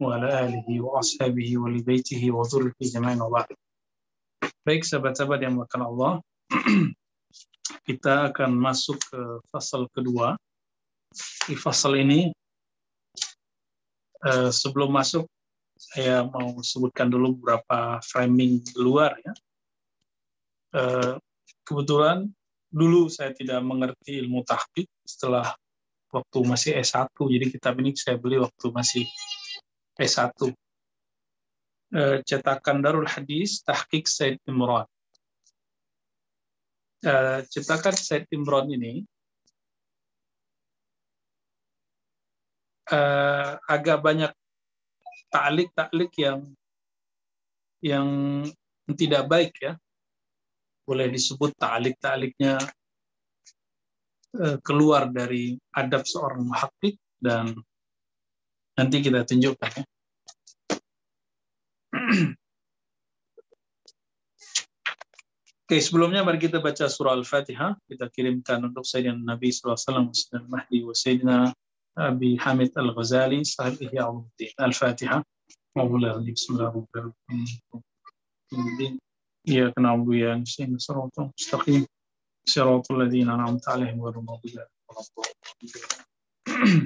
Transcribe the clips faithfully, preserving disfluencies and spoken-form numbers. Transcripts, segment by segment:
وعلى آله وأصحابه ولبيته وذريته جميعا وبعد. Baik sahabat-sahabat yang dimuliakan Allah, kita akan masuk ke fasal kedua. Di fasal ini, eh, sebelum masuk, saya mau sebutkan dulu beberapa framing luar ya. Eh, kebetulan dulu saya tidak mengerti ilmu tahqiq setelah waktu masih S satu, jadi kitab ini saya beli waktu masih S satu. Eh, cetakan Darul Hadis Tahqiq Said Imran. Uh, cetakan Said Imran ini uh, agak banyak ta'lik-ta'lik yang yang tidak baik ya. Boleh disebut ta'lik-ta'liknya uh, keluar dari adab seorang muhaqqiq, dan nanti kita tunjukkan ya. Oke, sebelumnya mari kita baca surah Al-Fatihah. Kita kirimkan untuk Sayyidina Nabi sallallahu alaihi wasallam, Sayyidina Mahdi wa Sayyidina Abi Hamid Al-Ghazali, sahib Ihya Ulumuddin. Al-Fatihah. Bismillahirrahmanirrahim. Iyyaka na'budu wa iyyaka nasta'in. Shiratal mustaqim. Shiratal ladzina an'amta 'alaihim ghairil maghdubi 'alaihim waladdallin.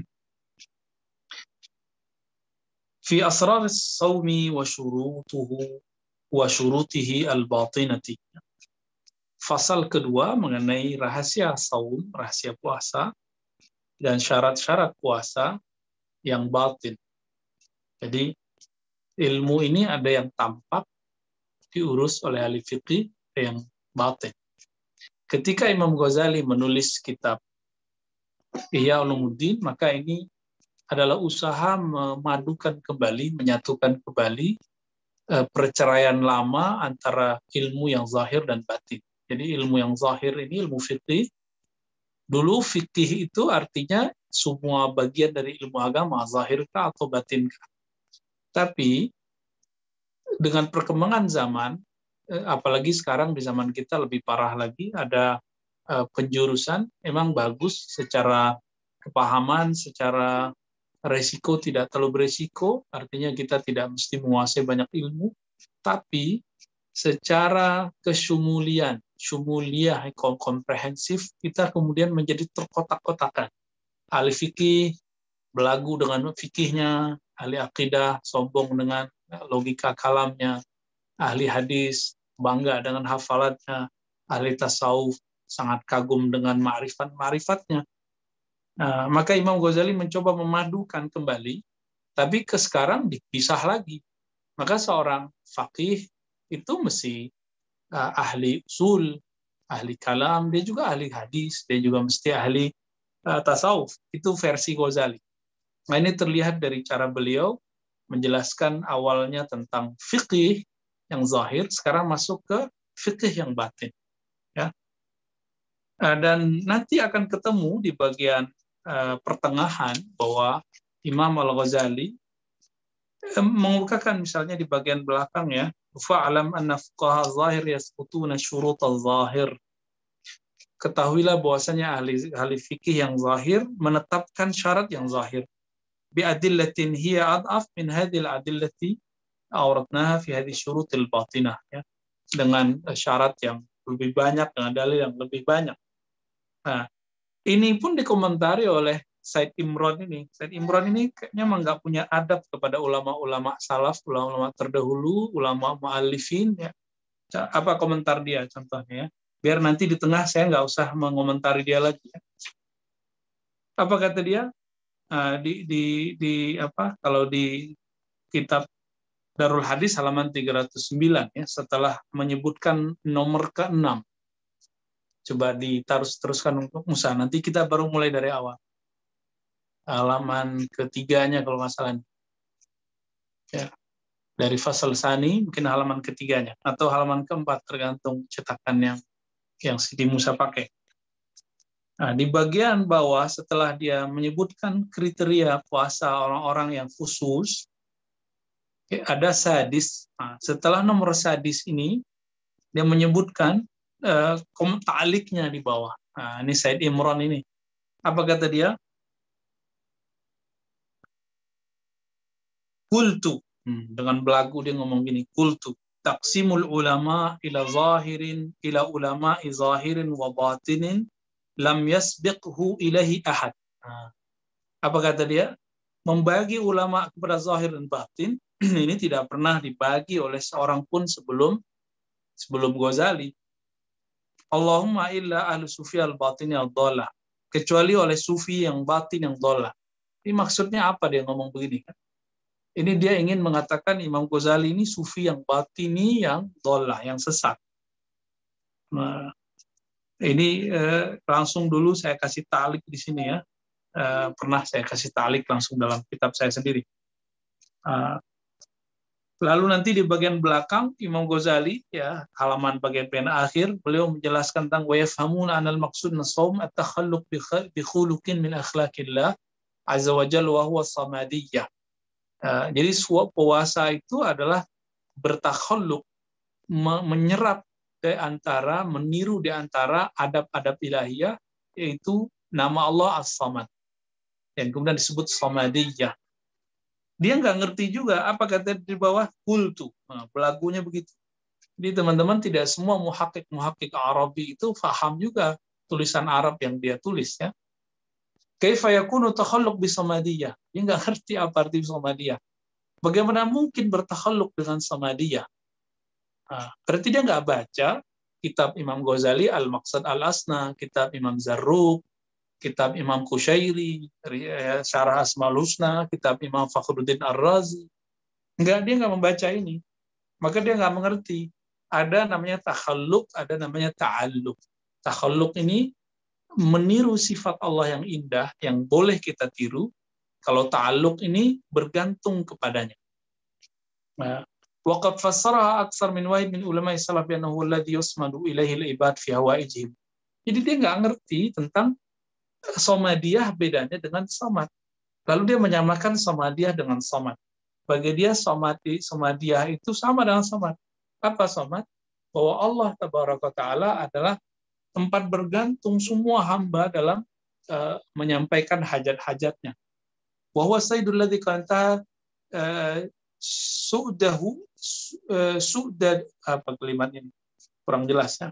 Fi asrar as-sawmi wa syurutuhu wa syurutihi al-batinati. Fasal kedua mengenai rahasia saum, rahasia puasa, dan syarat-syarat puasa yang batin. Jadi ilmu ini ada yang tampak diurus oleh ahli fiqih, ada yang batin. Ketika Imam Ghazali menulis kitab Ihya Ulumuddin, maka ini adalah usaha memadukan kembali, menyatukan kembali eh, perceraian lama antara ilmu yang zahir dan batin. Jadi ilmu yang zahir ini ilmu fikih. Dulu fikih itu artinya semua bagian dari ilmu agama, zahirkah atau batinkah. Tapi dengan perkembangan zaman, apalagi sekarang di zaman kita lebih parah lagi, ada penjurusan, emang bagus secara kepahaman, secara resiko tidak terlalu beresiko, artinya kita tidak mesti menguasai banyak ilmu, tapi secara kesumulian, syumuliyah, komprehensif, kita kemudian menjadi terkotak-kotakan. Ahli fikih belagu dengan fikihnya, ahli akidah sombong dengan logika kalamnya, ahli hadis bangga dengan hafalatnya, ahli tasawuf sangat kagum dengan ma'rifat-ma'rifatnya. Nah, maka Imam Ghazali mencoba memadukan kembali, tapi ke sekarang dipisah lagi. Maka seorang faqih itu mesti uh, ahli usul, ahli kalam, dia juga ahli hadis, dia juga mesti ahli uh, tasawuf. Itu versi Ghazali. Nah, ini terlihat dari cara beliau menjelaskan awalnya tentang fikih yang zahir, sekarang masuk ke fikih yang batin. Ya. Uh, dan nanti akan ketemu di bagian uh, pertengahan bahwa Imam Al-Ghazali mengukakan misalnya di bagian belakang ya, fa'alam anna fuqaha zahir yasqutuna syurut al-zahir. Ketahuilah bahwasanya ahli ahli fikih yang zahir menetapkan syarat yang zahir. Bi adillatin hiya ad'af min hadhihi al-adillati awratnaha fi hadhihi syurut al-batinah ya. Dengan syarat yang lebih banyak, dengan dalil yang lebih banyak. Nah, ini pun dikomentari oleh Said Imran ini. Said Imran ini kayaknya memang nggak punya adab kepada ulama-ulama salaf, ulama-ulama terdahulu, ulama mu'allifin. Ya. Apa komentar dia contohnya? Ya. Biar nanti di tengah saya nggak usah mengomentari dia lagi. Ya. Apa kata dia? Nah, di, di, di apa? Kalau di kitab Darul Hadis halaman tiga ratus sembilan ya, setelah menyebutkan nomor keenam. Coba ditaruh teruskan untuk Musa. Nanti kita baru mulai dari awal. Halaman ketiganya kalau nggak salah. Ya. Dari fasal sani mungkin halaman ketiganya atau halaman keempat tergantung cetakan yang yang Siti Musa pakai. Nah, di bagian bawah setelah dia menyebutkan kriteria puasa orang-orang yang khusus, ya, ada sadis. Nah, setelah nomor sadis ini dia menyebutkan uh, ta'liknya di bawah. Nah, ini Said Imran ini. Apa kata dia? Qultu, hmm, dengan belagu dia ngomong gini, qultu taqsimul ulama ila zahirin ila ulama'i zahirin wa batinin lam yasbiqhu ilahi ahad. Nah, apa kata dia? Membagi ulama kepada zahir dan batin ini tidak pernah dibagi oleh seorang pun sebelum sebelum Ghazali. Allahumma illa ahlu sufi al-batini al-dhalah, kecuali oleh sufi yang batin yang dhalah. Ini maksudnya apa dia ngomong begini kan? Ini dia ingin mengatakan Imam Ghazali ini sufi yang batini yang dhalah, yang sesat. Nah, ini eh, langsung dulu saya kasih talik di sini ya. Eh, pernah saya kasih talik langsung dalam kitab saya sendiri. Uh, lalu nanti di bagian belakang Imam Ghazali ya halaman bagian pena akhir beliau menjelaskan tentang wa yafhamuna anal maqsud as-shaum at-takhalluq bi khuluqin min akhlaqillah azza wa jalla wa huwa samadiyah. Uh, jadi suap puasa itu adalah bertakhalluk, me- menyerap di antara, meniru di antara adab-adab ilahiyah, yaitu nama Allah As-Samad. Dan kemudian disebut samadiyah. Dia nggak ngerti juga apa kata di bawah kultu. Nah, belagunya begitu. Jadi teman-teman tidak semua muhakkik-muhakkik Arabi itu faham juga tulisan Arab yang dia tulis ya. Kaifa yakunu takhalluq bi samadiyah? Dia nggak ngerti apa arti samadiyah. Bagaimana mungkin bertakhalluk dengan samadiyah? Nah, berarti dia nggak baca kitab Imam Ghazali Al-Maqsad Al-Asna, kitab Imam Zarruq, kitab Imam Qushairi, Syarah Asmaul Husna, kitab Imam Fakhruddin Ar-Razi. Enggak, dia nggak membaca ini. Maka dia nggak mengerti. Ada namanya takhalluk, ada namanya ta'alluq. Takhalluk ini meniru sifat Allah yang indah, yang boleh kita tiru. Kalau ta'alluq ini bergantung kepadanya. Nah, waqad fassaraha aksar min wahid min ulama'i salaf bi annahu alladhi yusmadu ilaihi al-ibad fi hawaijihim. Jadi dia nggak ngerti tentang Samadiyah bedanya dengan samad. Lalu dia menyamakan samadiyah dengan samad. Bagi dia samadi, samadiyah itu sama dengan samad. Apa samad? Bahwa Allah Tabaraka Ta'ala adalah tempat bergantung semua hamba dalam uh, menyampaikan hajat-hajatnya. Wa huwa sayyidul ladzi kanta uh, su'dahu uh, su'dad apa kalimat ini? Kurang jelas ya.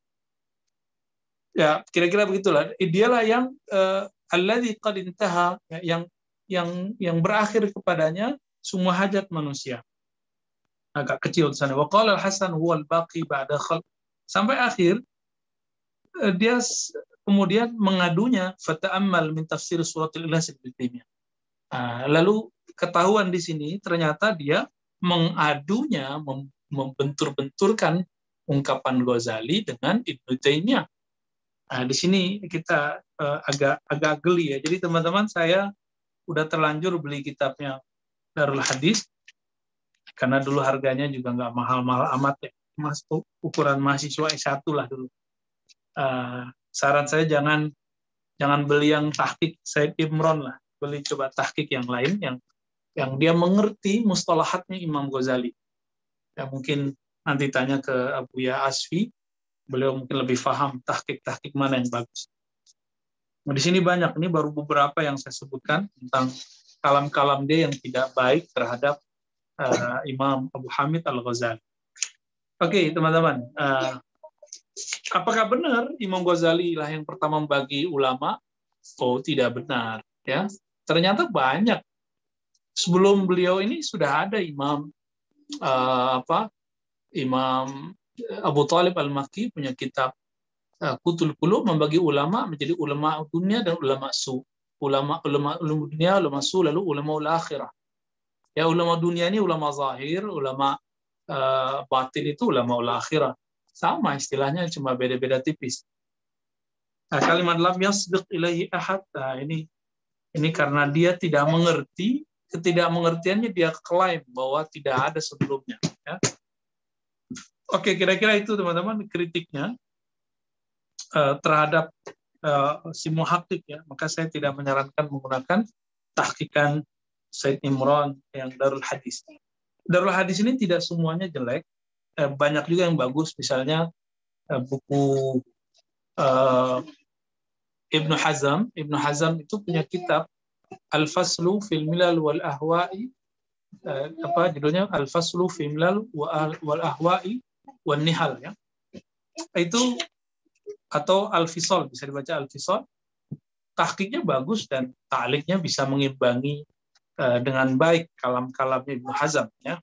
Ya, kira-kira begitulah. Dialah yang uh, alladzi qad intaha, yang yang yang berakhir kepadanya semua hajat manusia. Agak kecil di sana. Wa qala al-Hasan huwa al-baqi ba'da khalq. Sampai akhir uh, dia kemudian mengadunya fata'ammal min tafsir surat al-Ikhlas Ibnu Taimiyah. Uh, lalu ketahuan di sini ternyata dia mengadunya, mem- membentur-benturkan ungkapan Ghazali dengan Ibnu Taimiyah. Nah, di sini kita uh, agak agak geli ya. Jadi teman-teman, saya udah terlanjur beli kitabnya Darul Hadis karena dulu harganya juga nggak mahal-mahal amat ya. Mas ukuran mahasiswa S satu lah dulu. Uh, saran saya jangan jangan beli yang tahqiq Said Imron lah. Beli coba tahqiq yang lain yang yang dia mengerti mustalahatnya Imam Ghazali. Ya mungkin nanti tanya ke Abuya Asfi. Beliau mungkin lebih paham tahqiq-tahqiq mana yang bagus. Nah, di sini banyak, ini baru beberapa yang saya sebutkan tentang kalam-kalam dia yang tidak baik terhadap uh, Imam Abu Hamid Al-Ghazali. Oke, okay, teman-teman. Uh, apakah benar Imam Ghazali lah yang pertama membagi ulama? Oh, tidak benar. Ya, ternyata banyak. Sebelum beliau ini sudah ada Imam uh, apa? Imam Abu Talib Al-Makki punya kitab uh, Qutul Qulub, membagi ulama menjadi ulama dunia dan ulama su. Ulama ulama ulama dunia, ulama su, lalu ulama ul-akhirah. Ya, ulama dunia ini ulama zahir, ulama uh, batin itu ulama ul-akhirah. Sama istilahnya, cuma beda-beda tipis. Nah, kalimat lam yasbiq ilaihi ahad, nah, ini ini karena dia tidak mengerti, ketidakmengertiannya dia klaim bahwa tidak ada sebelumnya, ya. Oke, kira-kira itu teman-teman kritiknya uh, terhadap uh, si muhakkik ya. Maka saya tidak menyarankan menggunakan tahqiqan Said Imran yang Darul Hadis. Darul Hadis ini tidak semuanya jelek, uh, banyak juga yang bagus. Misalnya uh, buku uh, Ibnu Hazm, Ibnu Hazm itu punya kitab Al-Faslu fil Milal wal Ahwa'i uh, apa judulnya Al-Faslu fi Milal wal Ahwa'i wan Nihal ya. Itu atau Al-Fisal, bisa dibaca Al-Fisal. Tahqiqnya bagus dan ta'liqnya bisa mengimbangi uh, dengan baik kalam-kalamnya Ibnu Hazm ya.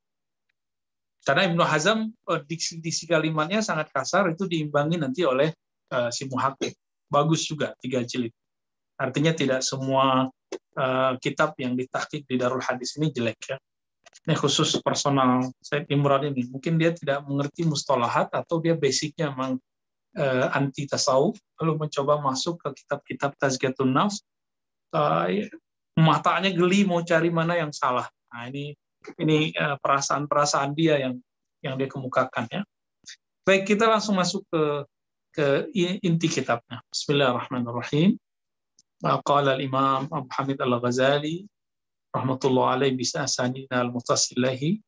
Karena Ibnu Hazm uh, diksi-diksi kalimatnya sangat kasar, itu diimbangi nanti oleh uh, si muhaqqiq. Bagus juga tiga jilid. Artinya tidak semua uh, kitab yang ditahqiq di Darul Hadis ini jelek ya. Ini khusus personal Said Imran ini. Mungkin dia tidak mengerti mustalahat atau dia basicnya memang uh, anti tasawuf, lalu mencoba masuk ke kitab-kitab Tazkiyatun Nafs, uh, matanya geli mau cari mana yang salah. Nah ini ini uh, perasaan-perasaan dia yang yang dia kemukakan ya. Baik, kita langsung masuk ke ke inti kitabnya. Bismillahirrahmanirrahim. Qala al-Imam Abu Hamid Al-Ghazali rahmatullah alaihi bisa'sanina al-mutasillahi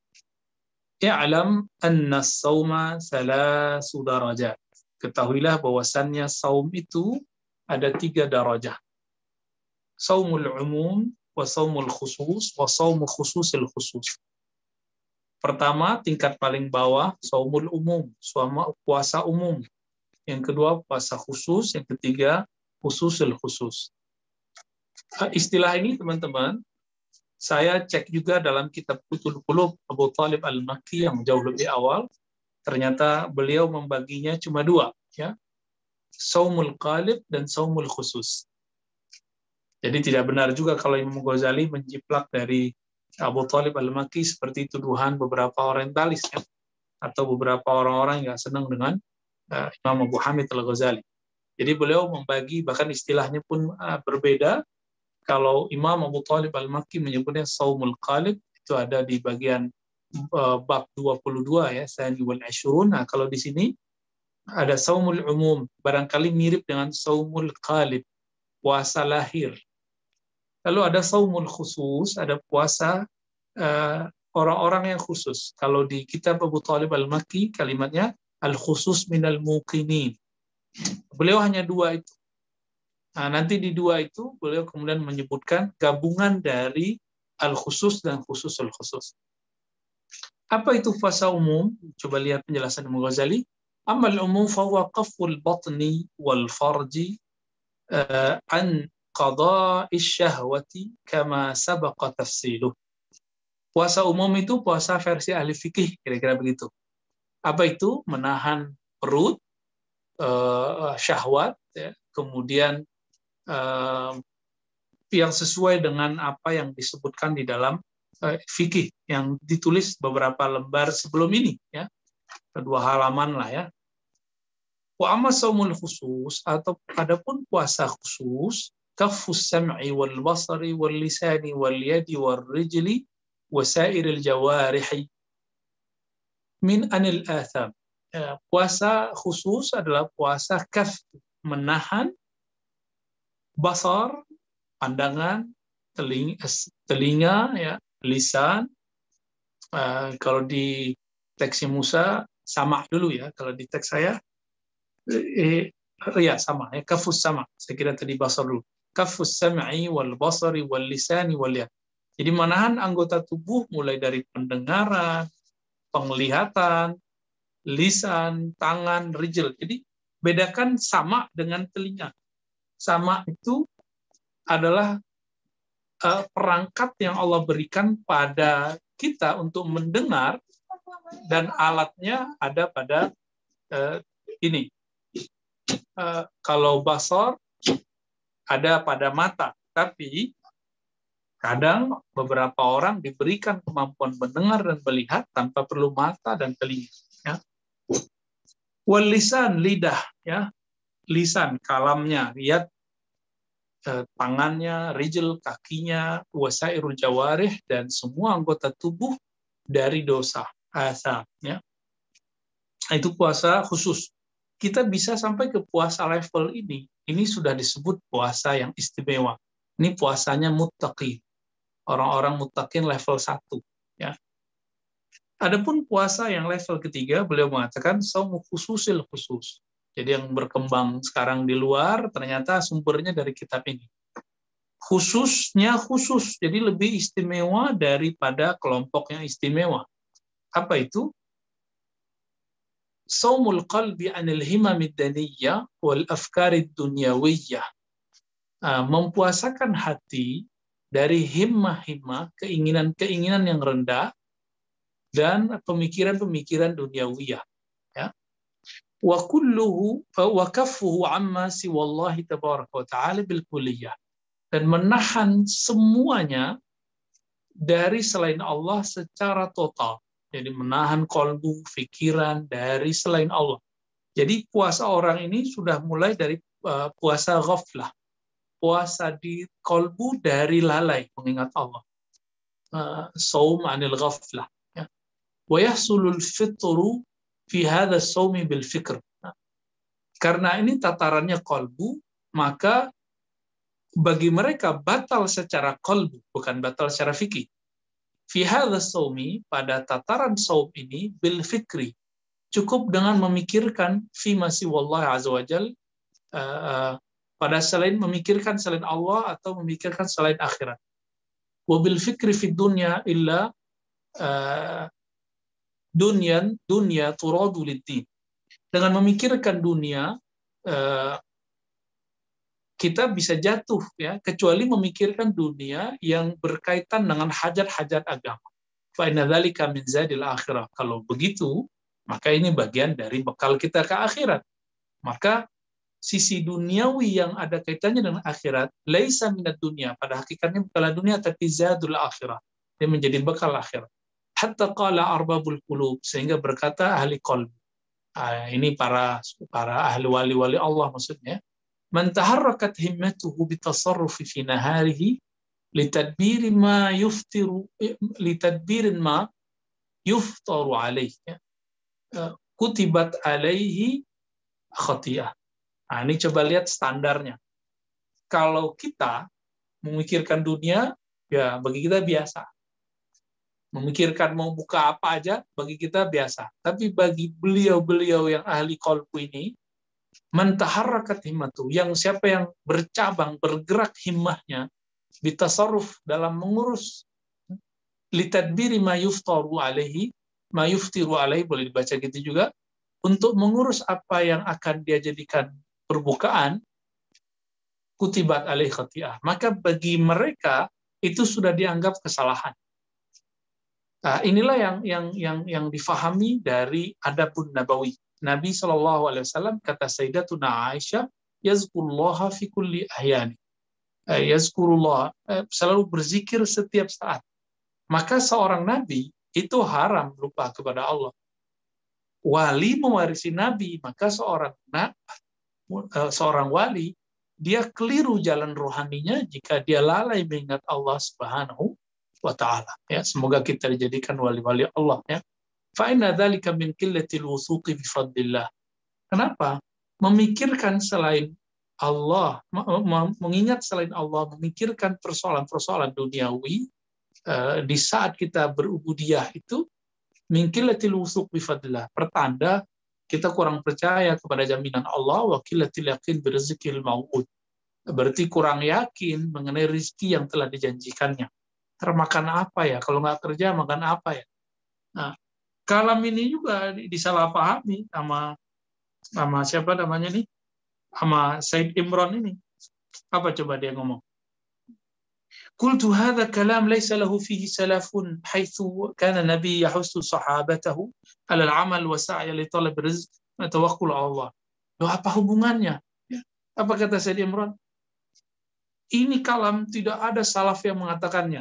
i'lam anna as-sawma thalasu darajat. Ketahuilah bahwasannya saum itu ada tiga darajah. Saumul umum wa saumul khusus wa saumu khususil khusus. Pertama, tingkat paling bawah, saumul umum, puasa umum. Yang kedua, puasa khusus. Yang ketiga, khususil khusus. Istilah ini, teman-teman, saya cek juga dalam kitab Qutul Qulub Abu Talib Al-Makki yang jauh lebih awal. Ternyata beliau membaginya cuma dua, ya, saumul qalib dan saumul khusus. Jadi tidak benar juga kalau Imam Ghazali menjiplak dari Abu Talib Al-Makki seperti tuduhan beberapa orientalis ya, atau beberapa orang-orang yang senang dengan uh, Imam Abu Hamid Al-Ghazali. Jadi beliau membagi, bahkan istilahnya pun uh, berbeda. Kalau Imam Abu Talib Al-Makki menyebutnya saumul qalib, itu ada di bagian uh, bab dua puluh dua ya, Sani wal Ashrun. Nah, kalau di sini ada saumul umum, barangkali mirip dengan saumul qalib, puasa lahir. Lalu ada saumul khusus, ada puasa uh, orang-orang yang khusus. Kalau di kitab Abu Talib Al-Makki, kalimatnya al-khusus minal muqinin. Beliau hanya dua itu. Nah, nanti di dua itu, beliau kemudian menyebutkan gabungan dari al-khusus dan khususul khusus. Apa itu puasa umum? Coba lihat penjelasan Imam Ghazali. Amal umum fahuwa qaful batni wal farji uh, an qada'i syahwati kama sabaqa tafsiluh. Puasa umum itu puasa versi ahli fikih, kira-kira begitu. Apa itu? Menahan perut, uh, syahwat, ya, kemudian uh, yang sesuai dengan apa yang disebutkan di dalam uh, fikih yang ditulis beberapa lembar sebelum ini, ya, kedua halaman lah ya. Wa amma saumul khusus, atau adapun puasa khusus, kafus sam'i wal basari wal lisani wal yadi wal rijli wa sairil jawarihi min anil atham. Ya, puasa khusus adalah puasa kaf, menahan basar, pandangan, telinga, telinga ya, lisan. Uh, kalau di teksnya Musa sama dulu ya, kalau di teks saya eh, ya sama ya, kafus sama. Saya kira tadi basar dulu. Kafus sam'i wal basari wal lisani wal yad. Jadi menahan anggota tubuh mulai dari pendengaran, penglihatan, lisan, tangan, rijl. Jadi bedakan sama dengan telinga. Sama itu adalah uh, perangkat yang Allah berikan pada kita untuk mendengar, dan alatnya ada pada uh, ini. Uh, kalau basar ada pada mata, tapi kadang beberapa orang diberikan kemampuan mendengar dan melihat tanpa perlu mata dan telinga. Ya. Wal lisan, lidah, ya, lisan, kalamnya, lihat eh, tangannya, rijl, kakinya, wasairul jawarih, dan semua anggota tubuh dari dosa, asam. Ya. Itu puasa khusus. Kita bisa sampai ke puasa level ini. Ini sudah disebut puasa yang istimewa. Ini puasanya muttaqin. Orang-orang muttaqin level satu. Ya. Adapun puasa yang level ketiga, beliau mengatakan saumu khususil khusus. Jadi yang berkembang sekarang di luar, ternyata sumbernya dari kitab ini. khususnya khusus, jadi lebih istimewa daripada kelompok yang istimewa. Apa itu? Saumul qalbi anil himamid daniyah wal afkarid dunyawiyah. Mempuasakan hati dari himmah-himmah, keinginan-keinginan yang rendah, dan pemikiran-pemikiran duniawiyah. Ya. Wa kulluhu wa kaffuhu amma siwallahi tabaraka wa ta'ala bil kulliyah. Dan menahan semuanya dari selain Allah secara total. Jadi menahan kolbu, pikiran dari selain Allah. Jadi puasa orang ini sudah mulai dari uh, puasa ghaflah. Puasa di kolbu dari lalai mengingat Allah. Uh, Saum anil ghaflah. Ya. Wa yahsulul fitru fi hadha saumi bil fikr. Nah, karena ini tatarannya kolbu, maka bagi mereka batal secara kolbu, bukan batal secara fikih. Fi hadha saumi, pada tataran saum ini, bil fikri, cukup dengan memikirkan fi masih wallah azza wa jal, uh, pada selain memikirkan selain Allah atau memikirkan selain akhirat. Wa bil fikri fi dunya illa uh, dunyan dunya turadu lid-din. Dengan memikirkan dunia, uh, kita bisa jatuh, ya, kecuali memikirkan dunia yang berkaitan dengan hajat-hajat agama. Fa inna dzalika min zadil akhirah. Kalau begitu, maka ini bagian dari bekal kita ke akhirat. Maka sisi duniawi yang ada kaitannya dengan akhirat, laisa minad dunya, pada hakikatnya bukanlah dunia, tapi zadul akhirah. Dia menjadi bekal akhirat. Hatta qala arbabul qulub, sehingga berkata ahli qalb. Ah, ini para para ahli wali-wali Allah maksudnya. Man taharrakat himmatuhu bitasarrufi fi naharihi litadbiri ma yuftiru litadbirin ma yuftaru alaihi, kutibat alaihi khati'ah. Nah, ini coba lihat standarnya. Kalau kita memikirkan dunia, ya bagi kita biasa. Memikirkan mau buka apa aja, bagi kita biasa. Tapi bagi beliau-beliau yang ahli qalbu ini, mentaharrakat himmatu, yang siapa yang bercabang, bergerak himmahnya, bitasarruf, dalam mengurus, litadbiri ma yuftaru alaihi, ma yuftiru alaihi, boleh dibaca gitu juga, untuk mengurus apa yang akan dia jadikan perbukaan, kutibat alaihi khati'ah. Maka bagi mereka itu sudah dianggap kesalahan. Nah, inilah yang yang yang yang difahami dari adabun nabawi. Nabi shallallahu alaihi wasallam, kata Sayyidatuna Aisyah, yazkurullaha fi kulli ahyani. Yazkurullah, selalu berzikir setiap saat. Maka seorang nabi itu haram lupa kepada Allah. Wali mewarisi nabi, maka seorang nah, seorang wali dia keliru jalan rohaninya jika dia lalai mengingat Allah Subhanahu wa taala. Ya, semoga kita dijadikan wali-wali Allah, ya. Fa inna dzalika min qillatil wuthuqi bi fadlillah. Kenapa? Memikirkan selain Allah, mengingat selain Allah, memikirkan persoalan-persoalan duniawi uh, di saat kita berubudiyah itu min qillatil wuthuq bi fadlillah. Pertanda kita kurang percaya kepada jaminan Allah, wa qillatil yaqin bi rizqil mau'ud. Berarti kurang yakin mengenai rezeki yang telah dijanjikannya. Termakan apa ya? Kalau nggak kerja makan apa ya? Nah, kalam ini juga disalahpahami sama sama siapa namanya nih? Sama Said Imran ini. Apa coba dia ngomong? Qultu hadza kalam laysa lahu fihi salafun haitsu kana nabi yahussu sahabatahu 'ala al-'amal wa sa'ya li talab rizq wa tawakkul 'ala Allah. Loh, apa hubungannya? Ya. Apa kata Said Imran? Ini kalam tidak ada salaf yang mengatakannya.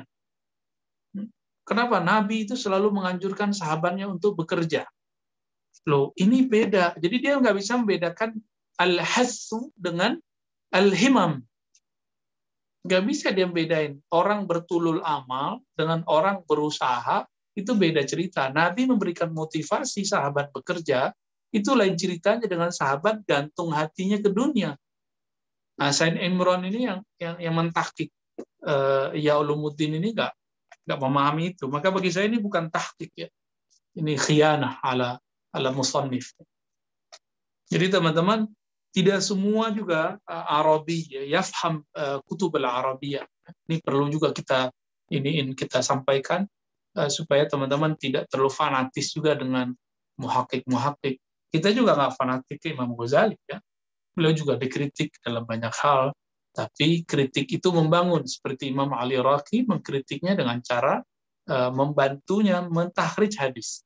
Kenapa? Nabi itu selalu menganjurkan sahabatnya untuk bekerja. Loh, ini beda. Jadi dia nggak bisa membedakan al-hassu dengan al-himam. Nggak bisa dia bedain. Orang bertulul amal dengan orang berusaha, itu beda cerita. Nabi memberikan motivasi sahabat bekerja, itu lain ceritanya dengan sahabat gantung hatinya ke dunia. Nah, Said Imran ini yang yang, yang mentahqiq uh, ya ulumuddin ini nggak nggak memahami itu. Maka bagi saya ini bukan tahqiq, ya. Ini khianah ala ala musannif. Jadi teman-teman, tidak semua juga uh, Arabi ya, yafham uh, kutub al-Arabiyah. Ini perlu juga kita iniin kita sampaikan uh, supaya teman-teman tidak terlalu fanatis juga dengan muhakkik-muhakkik. Kita juga nggak fanatik ke Imam Ghazali ya. Beliau juga dikritik dalam banyak hal, tapi kritik itu membangun, seperti Imam Ali Raqi mengkritiknya dengan cara uh, membantunya mentahrijh hadis.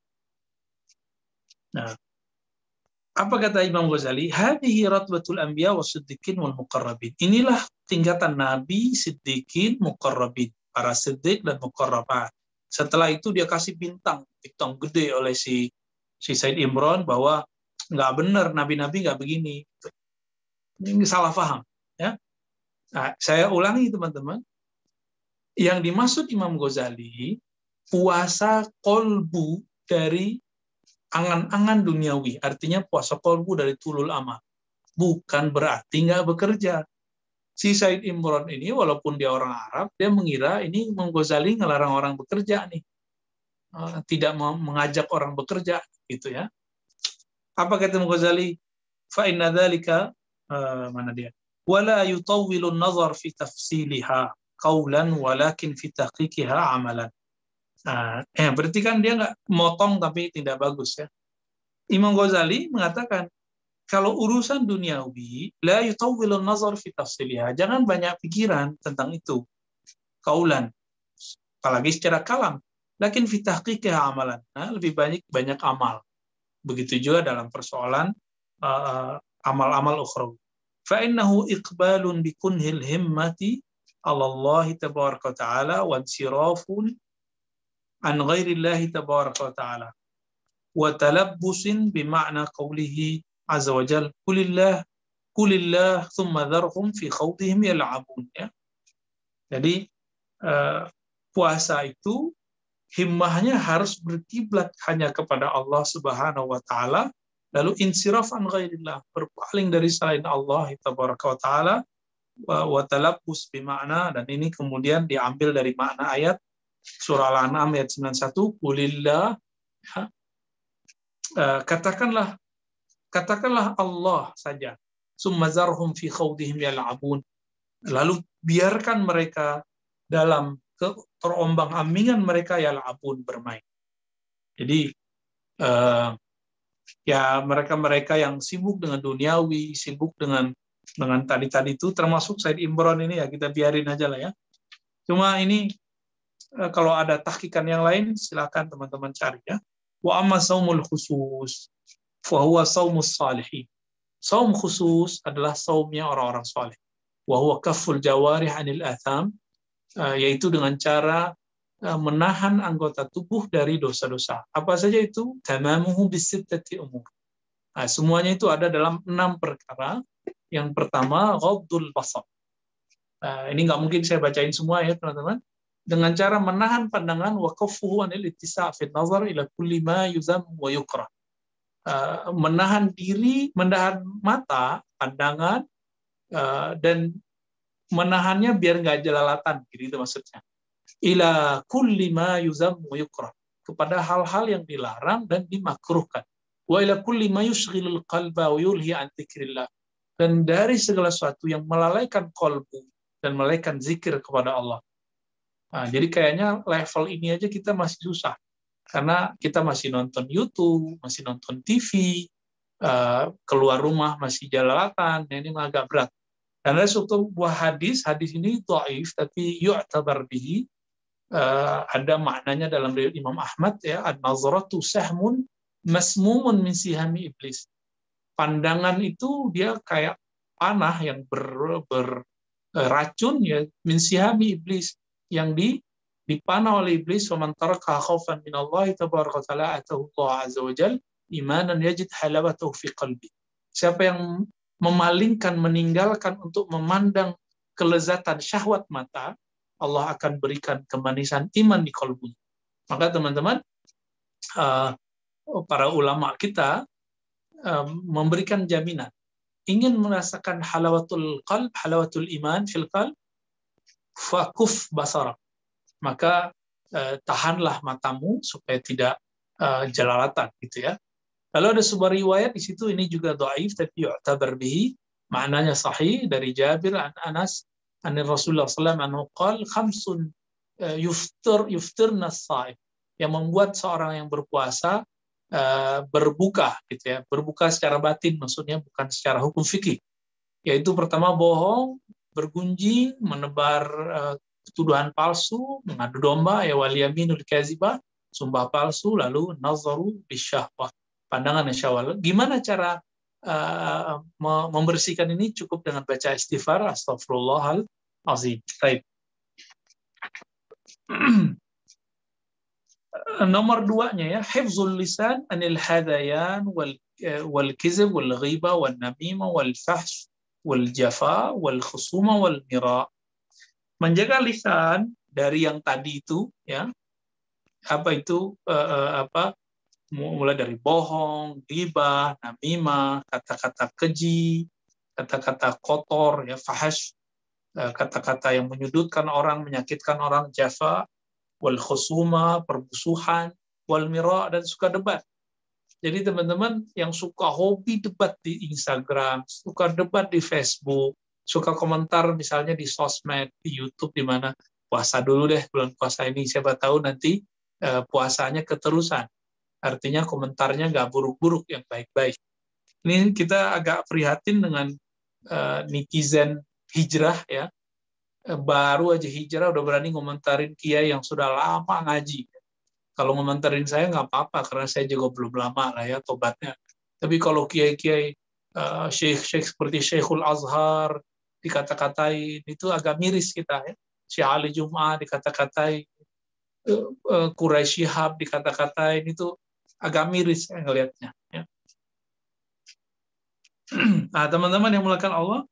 Nah, apa kata Imam Ghazali? Hadhihi ratbatul anbiya was-siddiqin wal muqarrabin. Inilah tingkatan nabi, siddiqin, muqarrabin, para siddiq dan muqarrabat. Setelah itu dia kasih bintang, bintang gede oleh si si Said Imran bahwa nggak benar, nabi-nabi nggak begini. Ini salah paham, ya. Nah, saya ulangi teman-teman. Yang dimaksud Imam Ghazali puasa kolbu dari angan-angan duniawi, artinya puasa kolbu dari tulul amal. Bukan berarti nggak bekerja. Si Said Imran ini walaupun dia orang Arab, dia mengira ini Imam Ghazali ngelarang orang bekerja nih, tidak mengajak orang bekerja, gitu ya. Apa kata Imam Ghazali? Fa inna dzalika uh, mana dia? Wala yutawwilu an-nazar fi tafsiliha qawlan walakin fi tahqiqiha amalan. Nah, eh, berarti kan dia nggak motong tapi tidak bagus ya. Imam Ghazali mengatakan kalau urusan duniawi la yutawwilu an-nazar fi tafsiliha, jangan banyak pikiran tentang itu. Qaulan, apalagi secara kalam. Lakin fi tahqiqiha amalan. Nah, lebih banyak banyak amal. Begitu juga dalam persoalan uh, amal-amal ukhrawi. Fa innahu iqbalun bi kunhil himmati 'ala Allah tabaraka wa ta'ala wa insirafun an ghairi Allah tabaraka wa ta'ala wa talabbusin bi ma'na qawlihi azza wa jalla qulillah qulillah thumma dharhum fi khawdihim yal'abun, ya. Jadi uh, puasa itu himmahnya harus berkiblat hanya kepada Allah Subhanahu wa taala, lalu insiraf an ghairillah, berpaling dari selain Allah tabaraka wa taala, wa talabbus bi makna, dan ini kemudian diambil dari makna ayat surah Al-An'am ayat sembilan puluh satu, qulillah, katakanlah katakanlah Allah saja, summa zarhum fi khawdihim yal'abun, lalu biarkan mereka dalam terombang-ambingan mereka yal'abun, bermain. Jadi uh, ya mereka-mereka yang sibuk dengan duniawi, sibuk dengan dengan tadi-tadi itu, termasuk Said Imran ini, ya kita biarin aja lah ya. Cuma ini uh, kalau ada tahqiqan yang lain silakan teman-teman cari ya. Wa amma saumul khusus fa huwa saumus salihin. Saum khusus adalah saumnya orang-orang saleh. Wa huwa kafful jawarih 'anil atham, Uh, yaitu dengan cara uh, menahan anggota tubuh dari dosa-dosa. Apa saja itu? Tamamuhu bisittati umur. Nah, semuanya itu ada dalam enam perkara. Yang pertama, ghaddul basar. Uh, ini nggak mungkin saya bacain semua ya teman-teman. Dengan cara menahan pandangan, wa kaffuhu anil ittisa' fi nazar ila kulli ma yuzam wa yukrah. Uh, menahan diri, menahan mata, pandangan, uh, dan menahannya biar nggak jelalatan, gitu maksudnya. Ila kulli ma yuzam wa yukrah, kepada hal-hal yang dilarang dan dimakruhkan. Wa ila kulli ma yushghilul qalba wa yulhi an dzikrillah, dan dari segala sesuatu yang melalaikan qalbu dan melalaikan zikir kepada Allah. Nah, jadi kayaknya level ini aja kita masih susah, karena kita masih nonton YouTube, masih nonton T V, uh, keluar rumah masih jelalatan, nah ini agak berat. Dan ada suatu buah hadis, hadis ini dhaif tapi yu'tabar bihi, uh, ada maknanya dalam riwayat Imam Ahmad ya, an-nazratu sahmun masmumun min sihami iblis. Pandangan itu dia kayak panah yang ber, ber racun ya, min sihami iblis, yang di dipanah oleh iblis. Wa man taraka khaufan min Allah tabaraka wa taala atahu Allah azza wa jalla imanan yajid halawatahu fi qalbi. Siapa yang memalingkan, meninggalkan untuk memandang kelezatan syahwat mata, Allah akan berikan kemanisan iman di kalbunya. Maka teman-teman, uh, para ulama kita uh, memberikan jaminan. Ingin merasakan halawatul qalb, halawatul iman fil qalb, fakuf basara. Maka uh, tahanlah matamu supaya tidak uh, jelalatan, gitu ya. Lalu ada sebuah riwayat di situ, ini juga dhaif tapi yu'tabar bihi, maknanya sahih, dari Jabir an Anas an Rasulullah sallallahu alaihi wasallam qol khamsun yuftir yuftirna as-shaim, yang membuat seorang yang berpuasa uh, berbuka gitu ya, berbuka secara batin, maksudnya bukan secara hukum fikih. Yaitu pertama bohong, bergunjing, menebar uh, tuduhan palsu, mengadu domba, ya wal yaminul kazibah, sumpah palsu, lalu nazaru bisyahwah, pandangan yang syahwat. Gimana cara uh, membersihkan ini? Cukup dengan baca istighfar, astagfirullahal azim. Baik. Nomor duanya ya, hifzul lisan anil hadayan wal wal kizb wal ghiba wal namima wal fahsh wal jafa wal khusuma wal mira. Menjaga lisan dari yang tadi itu ya, apa itu uh, uh, apa mulai dari bohong, ghibah, namimah, kata-kata keji, kata-kata kotor ya, fahash, kata-kata yang menyudutkan orang, menyakitkan orang, jafa, wal khusuma, permusuhan, wal mira, dan suka debat. Jadi teman-teman yang suka hobi debat di Instagram, suka debat di Facebook, suka komentar misalnya di sosmed, di YouTube, di mana puasa dulu deh bulan puasa ini, siapa tahu nanti uh, puasanya keterusan. Artinya komentarnya nggak buruk-buruk, yang baik-baik. Ini kita agak prihatin dengan uh, netizen hijrah ya. Baru aja hijrah udah berani ngomentarin kiai yang sudah lama ngaji. Kalau ngomentarin saya nggak apa-apa, karena saya juga belum lama lah ya tobatnya. Tapi kalau kiai-kiai uh, syekh-syekh seperti Syekhul Azhar dikata-katain, itu agak miris kita ya. Syekh Ali Jum'ah dikata-katain, uh, uh, Quraisy Shihab dikata-katain, itu agak miris saya ngelihatnya. Ya. Nah, teman-teman yang mulakan Allah,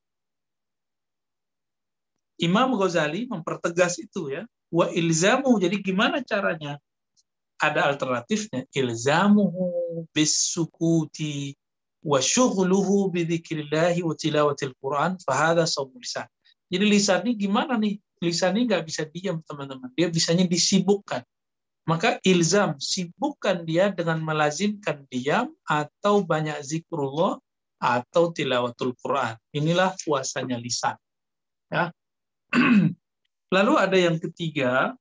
Imam Ghazali mempertegas itu ya. Wa ilzamu, jadi gimana caranya? Ada alternatifnya. Ilzamuhu bis-sukuti wa syughluhu bi dzikrillahi wa tilawatil Quran fa hadha shaum lisan. Jadi lisan ini gimana nih? Lisan ini nggak bisa diam, teman-teman. Dia bisanya disibukkan. Maka ilzam, sibukkan dia dengan melazimkan diam atau banyak zikrullah atau tilawatul Quran. Inilah puasanya lisan. Ya. Lalu ada yang ketiga,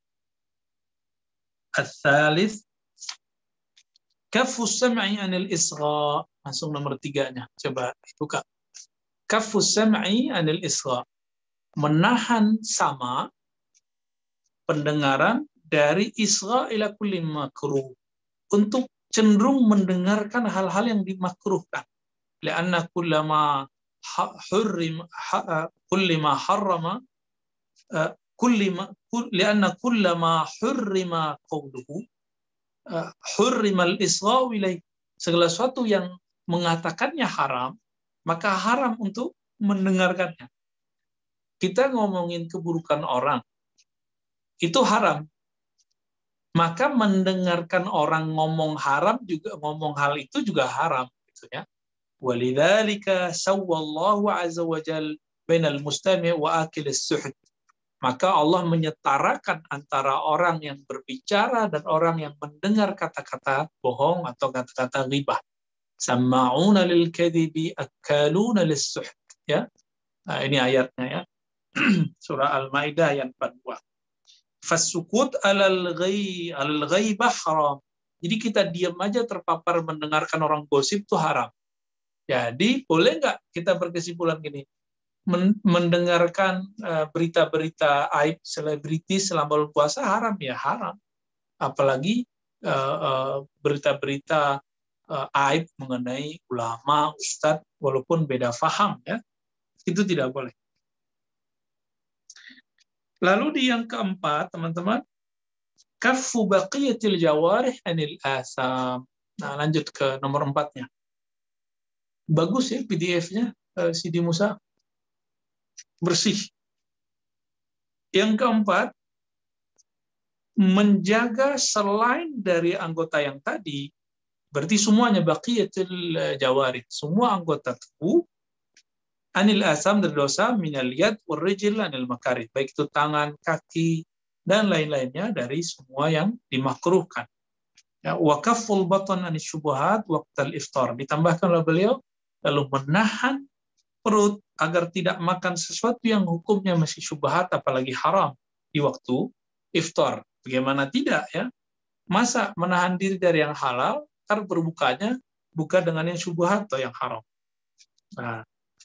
ats-tsalits kaffus sam'i 'anil isgha. Langsung nomor tiganya. Coba buka. Kaffus sam'i 'anil isgha. Menahan sama pendengaran dari isgha ila kulli makruh, untuk cenderung mendengarkan hal-hal yang dimakruhkan. Lianna kullama hurrim kullama harrama kullama lianna kullama hurrima qawluhu hurrima al-isgha ilaihi. Segala sesuatu yang mengatakannya haram, maka haram untuk mendengarkannya. Kita ngomongin keburukan orang, itu haram. Maka mendengarkan orang ngomong haram juga, ngomong hal itu juga haram gitu ya. Walidzalika sawwallahu azza wa jalla bainal mustami' wa akil as-suhd. Maka Allah menyetarakan antara orang yang berbicara dan orang yang mendengar kata-kata bohong atau kata-kata ghibah. Sama'una lil kadhibi akaluna lis-suhd ya. Nah, ini ayatnya ya. Surah Al-Maidah ayat empat puluh dua. Fasukut alal ghaib alal ghaibah haram. Jadi kita diam aja terpapar mendengarkan orang gosip itu haram. Jadi boleh nggak kita berkesimpulan gini, mendengarkan berita-berita uh, aib selebriti selama bulan puasa haram? Ya haram. Apalagi berita-berita uh, uh, aib mengenai ulama, ustadz, walaupun beda faham ya, itu tidak boleh. Lalu di yang keempat, teman-teman, kaffu baqiyatil jawarih anil asam. Nah, lanjut ke nomor empatnya. Bagus ya P D F-nya, uh, Sidi Musa. Bersih. Yang keempat, menjaga selain dari anggota yang tadi, berarti semuanya baqiyatil jawarih, semua anggota tubuh, anil asam dari dosa, minal yad wal rijl anil makarih, baik itu tangan, kaki, dan lain-lainnya dari semua yang dimakruhkan. Ya, wa kafful batan anis syubhat waqtal iftar. Ditambahkan oleh beliau, lalu menahan perut agar tidak makan sesuatu yang hukumnya masih syubhat, apalagi haram di waktu iftar. Bagaimana tidak ya? Masa menahan diri dari yang halal, ntar berbukanya buka dengan yang syubhat atau yang haram. Nah,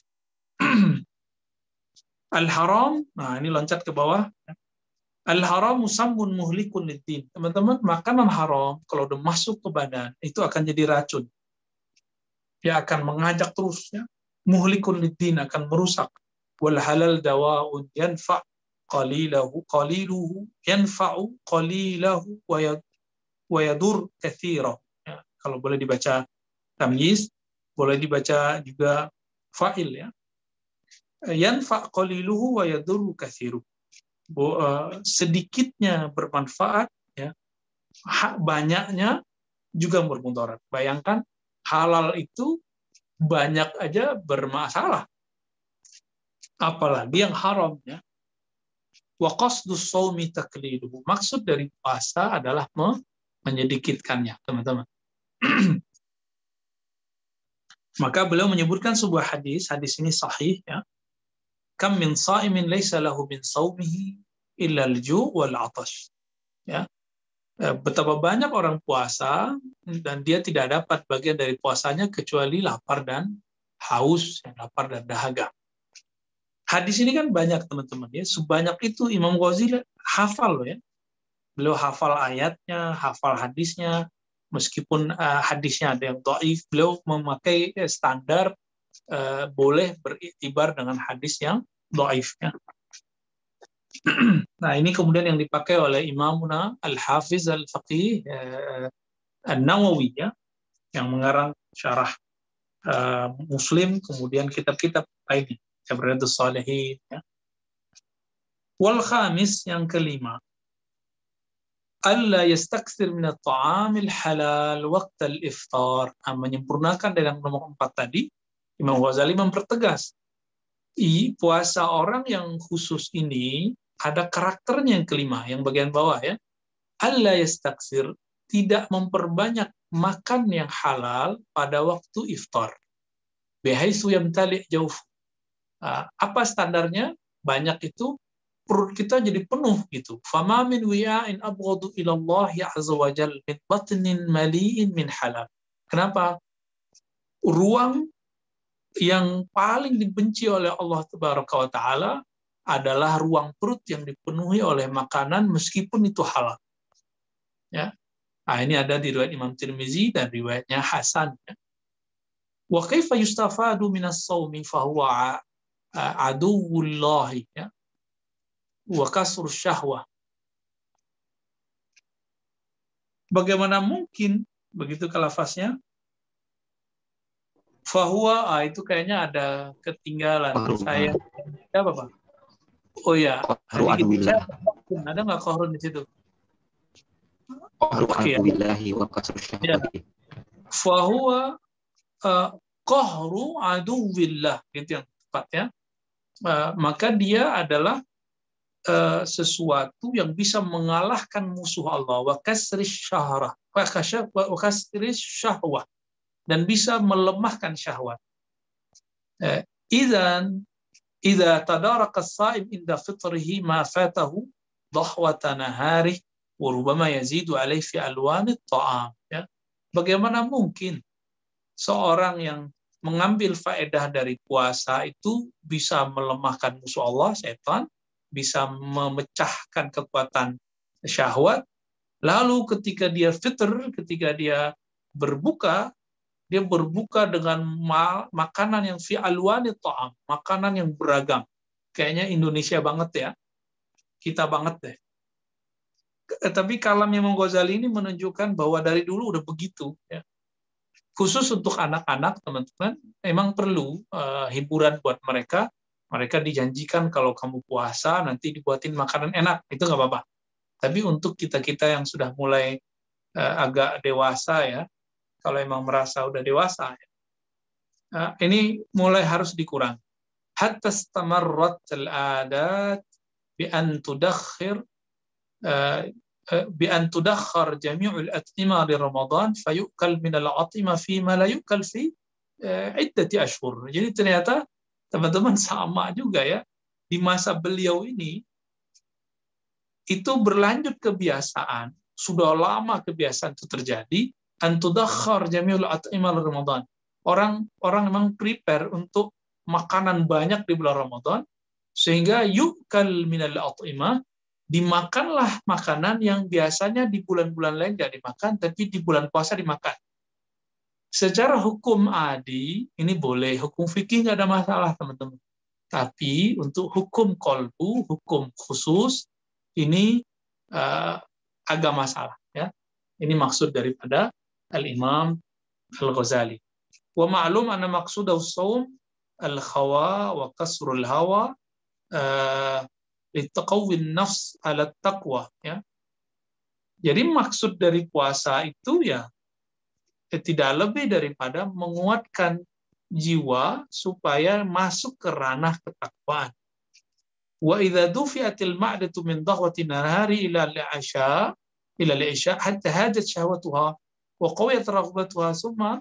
al-haram, nah ini loncat ke bawah. Al-haram musammun muhlikun liddin. Teman-teman, makanan haram kalau udah masuk ke badan itu akan jadi racun. Dia akan mengajak terus ya. Muhlikun liddin, akan merusak. Wal halal dawa'un yanfa' qalilahu qaliluhu yanfa'u qalilahu wa yadur katsirahu. Ya, kalau boleh dibaca tamyiz, boleh dibaca juga fa'il ya. Yanfa' qaliluhu wa yadur katsiruhu. Sedikitnya bermanfaat ya, banyaknya juga bermudarat. Bayangkan halal itu banyak aja bermasalah, apalagi yang haram ya. Wa qasdus shaumi taqliduhu. Maksud dari puasa adalah menyedikitkannya, teman-teman. Maka beliau menyebutkan sebuah hadis, hadis ini sahih ya. Kam min sha'imin laisa lahu min shaumihi illa al-ju' wal 'atash. Ya. Betapa banyak orang puasa dan dia tidak dapat bagian dari puasanya kecuali lapar dan haus, ya, lapar dan dahaga. Hadis ini kan banyak teman-teman ya, sebanyak itu Imam Ghazali hafal loh ya. Beliau hafal ayatnya, hafal hadisnya, meskipun uh, hadisnya ada yang dhaif, beliau memakai standar uh, boleh beriktibar dengan hadis yang dhaif ya. Nah, ini kemudian yang dipakai oleh Imamuna Al-Hafiz Al-Faqih uh, An-Nawawi ya, yang mengarang syarah uh, Muslim, kemudian kitab-kitab lainnya, Riyadhus Shalihin ya. Wal khamis, yang kelima, alla yastakthir min at-ta'amil halal waqt al-iftar. Nah, menyempurnakan dari yang nomor empat tadi, Imam Ghazali mempertegas, I, puasa orang yang khusus ini ada karakternya yang kelima, yang bagian bawah ya. Alla yastakthir, tidak memperbanyak makan yang halal pada waktu iftar. Bihaitsu yamtali' jawf. Nah, apa standarnya? Banyak itu perut kita jadi penuh gitu. Fama min wi'ain abghadu ila Allah azza wa jalla min batnin mali'in min halal. Kenapa? Ruang yang paling dibenci oleh Allah tabaraka wa taala adalah ruang perut yang dipenuhi oleh makanan meskipun itu halal. Ya. Nah, ini ada di riwayat Imam Tirmizi dan riwayatnya Hasan ya. Wa kaifa yustafadu minas shaumi fa huwa aduwwullahi ya. Wa kasrus syahwah. Bagaimana mungkin begitu lafaznya? Fahuwa, ah, itu kayaknya ada ketinggalan. Kohru. Saya apa Pak? Oh ya, ada nggak kohrun di situ? Adubillahi wa kasrus syahwah. Fahuwa kohru aduwillah, gitu yang tepat ya. Uh, maka dia adalah uh, sesuatu yang bisa mengalahkan musuh Allah, wa kasris syahwah, wa kasris syahwah, dan bisa melemahkan syahwat. Uh, idzan idza tadaraka as-sha'im inda fitrihi ma fatahu dhahwata nahari wa rubbama yazidu alayhi fi alwan at-ta'am ya. Bagaimana mungkin seorang yang mengambil faedah dari puasa itu bisa melemahkan musuh Allah, setan, bisa memecahkan kekuatan syahwat, lalu ketika dia fitr, ketika dia berbuka, dia berbuka dengan ma makanan yang fi alwani ta'am, makanan yang beragam. Kayaknya Indonesia banget ya. Kita banget deh. Tapi kalamnya Imam Ghazali ini menunjukkan bahwa dari dulu udah begitu ya. Khusus untuk anak-anak, teman-teman, memang perlu uh, hiburan buat mereka. Mereka dijanjikan kalau kamu puasa nanti dibuatin makanan enak, itu nggak apa-apa. Tapi untuk kita-kita yang sudah mulai uh, agak dewasa ya, kalau emang merasa udah dewasa, ya, ini mulai harus dikurangi. Hatta istamarrat al-adat bi an tudakhir bi an tudakhkhar jami'ul at'imah di Ramadan fayu'kal min al-at'imah fi ma la yu'kal fi iddati ashhur. Jadi ternyata teman-teman sama juga ya, di masa beliau ini itu berlanjut kebiasaan, sudah lama kebiasaan itu terjadi, an tudakhkhar jami'ul at'imah di Ramadan. Orang orang memang prepare untuk makanan banyak di bulan Ramadan, sehingga yu'kal minal at'imah, dimakanlah makanan yang biasanya di bulan-bulan lain tidak dimakan, tapi di bulan puasa dimakan. Secara hukum adi, ini boleh, hukum fikih nggak ada masalah teman-teman. Tapi untuk hukum kolbu, hukum khusus, ini uh, agak masalah. Ya. Ini maksud daripada Al-Imam Al-Ghazali. Wa ma'lum anna maqsudahu shaum al-khawa wa kasrul hawa litaqawwin nafs ala taqwa, ya. Jadi maksud dari puasa itu ya tidak lebih daripada menguatkan jiwa supaya masuk ke ranah ketakwaan. Wa idza dufi'atil ma'datu min dhahwati nahari ila al-'isha ila al-'isha hatta hadat shahwatuha wa qawiyat raghbatuha summa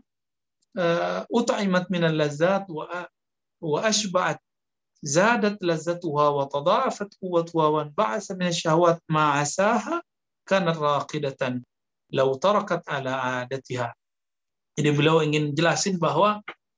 ut'imat min al-lazzat wa wa ashba'at zadat lazzatuha wa tada'afat quwwatuha wa ba'asa min ash-shahawat ma 'asaha kanat raqidatan law tarakat ala 'adatiha. Jadi beliau ingin jelasin bahwa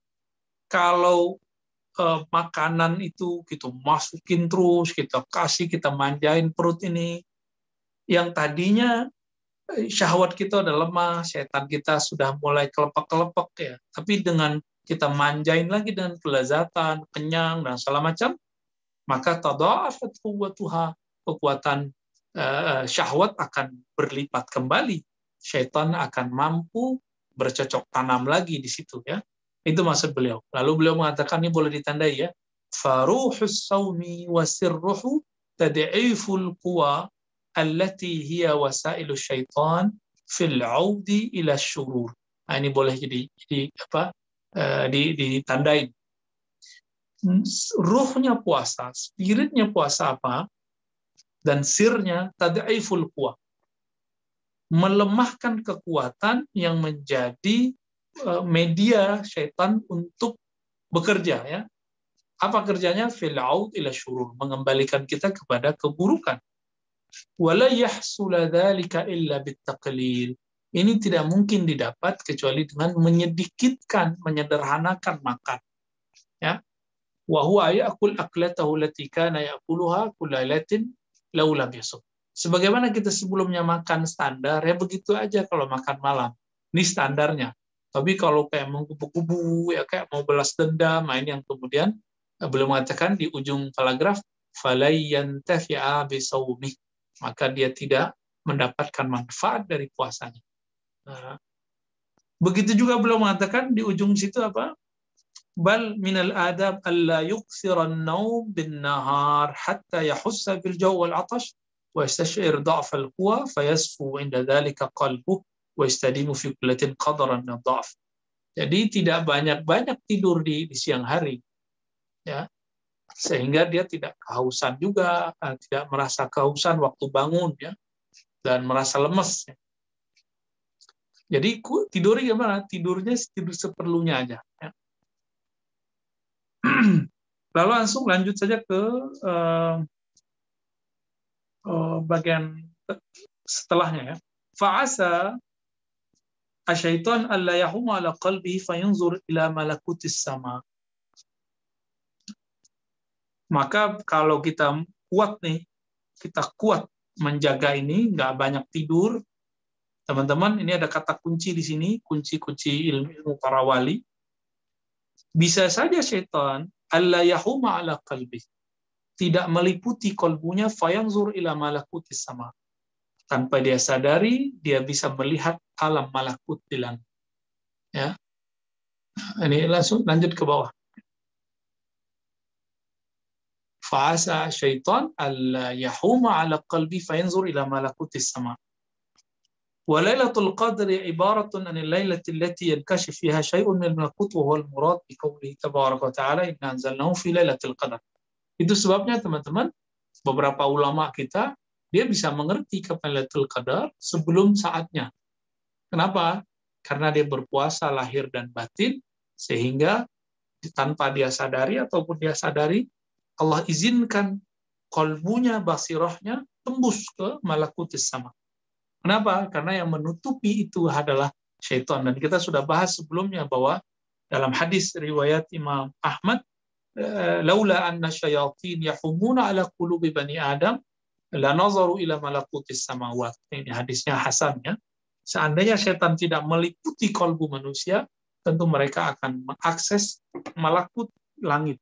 kalau eh, makanan itu kita masukin terus, kita kasih, kita manjain perut ini, yang tadinya syahwat kita udah lemah, setan kita sudah mulai kelepek-kelepek ya. Tapi dengan kita manjain lagi dengan kelezatan, kenyang dan segala macam, maka tada'afat quwwatuha, kekuatan uh, syahwat akan berlipat kembali. Syaitan akan mampu bercocok tanam lagi di situ ya. Itu maksud beliau. Lalu beliau mengatakan, ini boleh ditandai ya. Faruhus sawmi wa sirruhu tad'iful quwa allati hiya wasailu syaitan fil 'audi ila syurur. Nah, ini boleh jadi jadi apa? Uh, ditandain. Ruhnya puasa, spiritnya puasa apa? Dan sirnya tad'iful quwa. Melemahkan kekuatan yang menjadi uh, media syaitan untuk bekerja ya. Apa kerjanya? Fil 'aud ila syurur, mengembalikan kita kepada keburukan. Wala yahsula dzalika illa bittaqlil. Ini tidak mungkin didapat kecuali dengan menyedikitkan, menyederhanakan makan. Ya. Wa huwa ya'kul aklatahu allati kana ya'kuluha kullailatin law lam yasum. Sebagaimana kita sebelumnya makan standar, ya begitu aja kalau makan malam. Ini standarnya. Tapi kalau kayak mengkubu-kubu, ya kayak mau balas dendam, ini yang kemudian beliau mengatakan di ujung paragraf, falai yantafi'a bisawmih. Maka dia tidak mendapatkan manfaat dari puasanya. Nah, begitu juga beliau mengatakan di ujung situ apa? Bal minal adab alla yuksira an-nawm bin nahar hatta yahussa bil jaw wal 'atash wa yastash'ir dha'f al-quwa fayasfu 'inda dhalika qalbuhu wa yastadimu fi kullatin qadaran min dha'f. Jadi tidak banyak-banyak tidur di, di siang hari. Ya. Sehingga dia tidak kehausan juga, tidak merasa kehausan waktu bangun ya, dan merasa lemes. Ya. Jadi tidurnya gimana? Tidurnya tidur seperlunya aja. Ya. Lalu langsung lanjut saja ke uh, uh, bagian setelahnya ya. Fa'asa asyaitan alla yahuma ala qalbihi fayanzur ila malakutis sama. Maka kalau kita kuat nih, kita kuat menjaga ini, nggak banyak tidur, teman-teman, ini ada kata kunci di sini, kunci-kunci ilmu para wali. Bisa saja syaitan alla yahuma ala qalbi, tidak meliputi kolbunya, fayanzur ila malakutis sama. Tanpa dia sadari, dia bisa melihat alam malakut di langit. Ya. Ini langsung lanjut ke bawah. Fa'asa syaitan alla yahuma ala qalbi fayanzur ila malakutis sama. Wa lailatul qadri ibaratun anil lailati allati yankashif fiha syai'un min al-malakut wa huwa al-murad bi qawlihi tabaraka wa ta'ala inna anzalnahu fi lailatul qadr. Itu sebabnya teman-teman, beberapa ulama kita dia bisa mengerti kapan Lailatul Qadar sebelum saatnya. Kenapa? Karena dia berpuasa lahir dan batin, sehingga tanpa dia sadari ataupun dia sadari, Allah izinkan kolbunya, basirahnya tembus ke malakutis sama. Kenapa? Karena yang menutupi itu adalah syaitan. Dan kita sudah bahas sebelumnya bahwa dalam hadis riwayat Imam Ahmad, laula anna syayatin yahumuna ala qulubi bani Adam la nazaru ila malakutis samawat. Ini hadisnya hasan ya. Seandainya setan tidak meliputi kolbu manusia, tentu mereka akan mengakses malakut langit.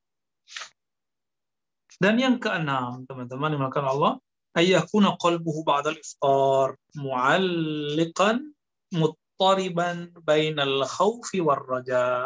Dan yang keenam, teman-teman dimakan Allah, ayyakuna qalbuhu ba'dal iftar mu'alliqan muttariban bainal khawfi war raja.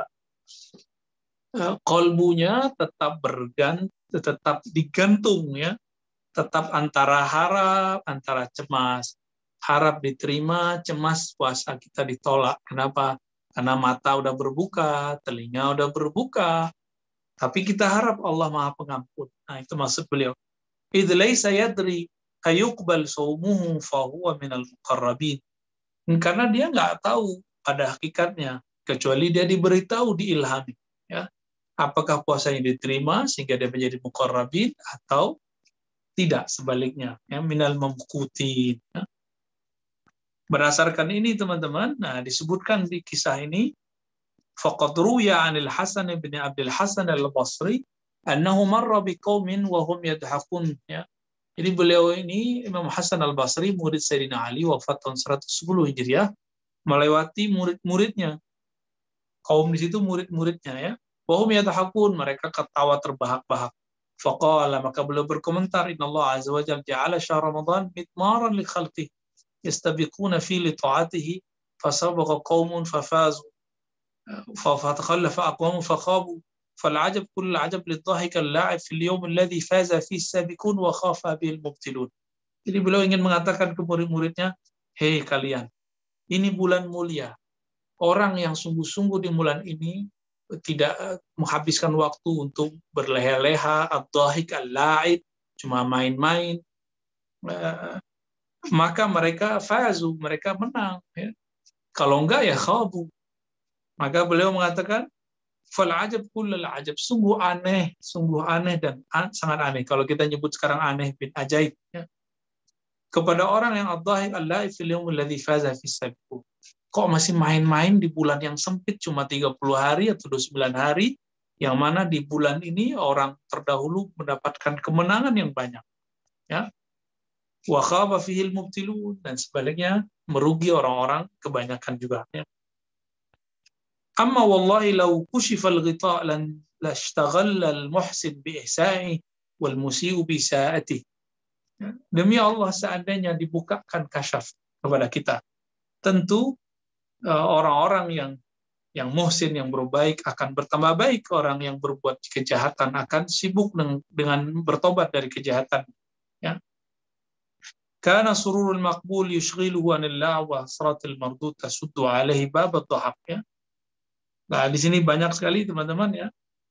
Kolbunya tetap bergantung, tetap digantung ya, tetap antara harap, antara cemas. Harap diterima, cemas puasa kita ditolak. Kenapa? Karena mata udah berbuka, telinga udah berbuka, tapi kita harap Allah Maha Pengampun. Nah, itu maksud beliau. Idh laysa yadri ayuqbal shaumuhu fa huwa minal muqarrabin. Karena dia nggak tahu pada hakikatnya, kecuali dia diberitahu, diilhami. Ya. Apakah puasanya diterima sehingga dia menjadi muqarrabin atau tidak, sebaliknya. Ya, minal mamqutin. Ya. Berdasarkan ini teman-teman, nah disebutkan di kisah ini, faqad ruya 'anil Hasan bin Abdul Hasan al-Basri annahu marra biqaumin wa hum yadhakun ya. Jadi beliau ini Imam Hasan al-Basri, murid Sayyidina Ali, wafat tahun seratus sepuluh Hijriah, melewati murid-muridnya. Kaum di situ murid-muridnya ya. Wa hum yadhakun, mereka ketawa terbahak-bahak. Faqala, maka beliau berkomentar, innallaha azza wa jalla ja'ala syahr Ramadan mitmaran li khalqihi yastabiquna fi li ta'atihi fasabaqa qaumun fafazu فتخلف أقوام فخابوا فالعجب كل العجب للضاحك اللاعب في اليوم الذي فاز فيه السابقون وخاف به المبتلون. Jadi beliau ingin mengatakan ke murid-muridnya, hei kalian, ini bulan mulia. Orang yang sungguh-sungguh di bulan ini tidak menghabiskan waktu untuk berleha-leha, ad-dhahik al-la'ib, cuma main-main, maka mereka fazu, mereka menang. Ya. Kalau enggak ya khabu. Maka beliau mengatakan, fal ajab kullal ajab, sungguh aneh, sungguh aneh dan an, sangat aneh. Kalau kita nyebut sekarang aneh bin ajaib. Ya. Kepada orang yang ad-dhahik al-la'ib fil yawmil ladzi faza fis sabiqun. Kok masih main-main di bulan yang sempit cuma tiga puluh hari atau dua puluh sembilan hari, yang mana di bulan ini orang terdahulu mendapatkan kemenangan yang banyak. Ya. Wa khaba fihil mubtilun, dan sebaliknya merugi orang-orang kebanyakan juga. Ya. Amma wallahi law kushifa al-ghita' lan lashtaghala al-muhsin bi ihsa'i wal musii'u bi sa'ati. Demi Allah, seandainya dibukakan kasyaf kepada kita, tentu orang-orang yang yang muhsin, yang berbaik akan bertambah baik, orang yang berbuat kejahatan akan sibuk dengan, dengan bertobat dari kejahatan. Ya. Kana sururul maqbul yushghiluhu anil la' wa hasratil mardud tasuddu alaihi bab ad-dhahab. Ya. Nah, di sini banyak sekali teman-teman ya.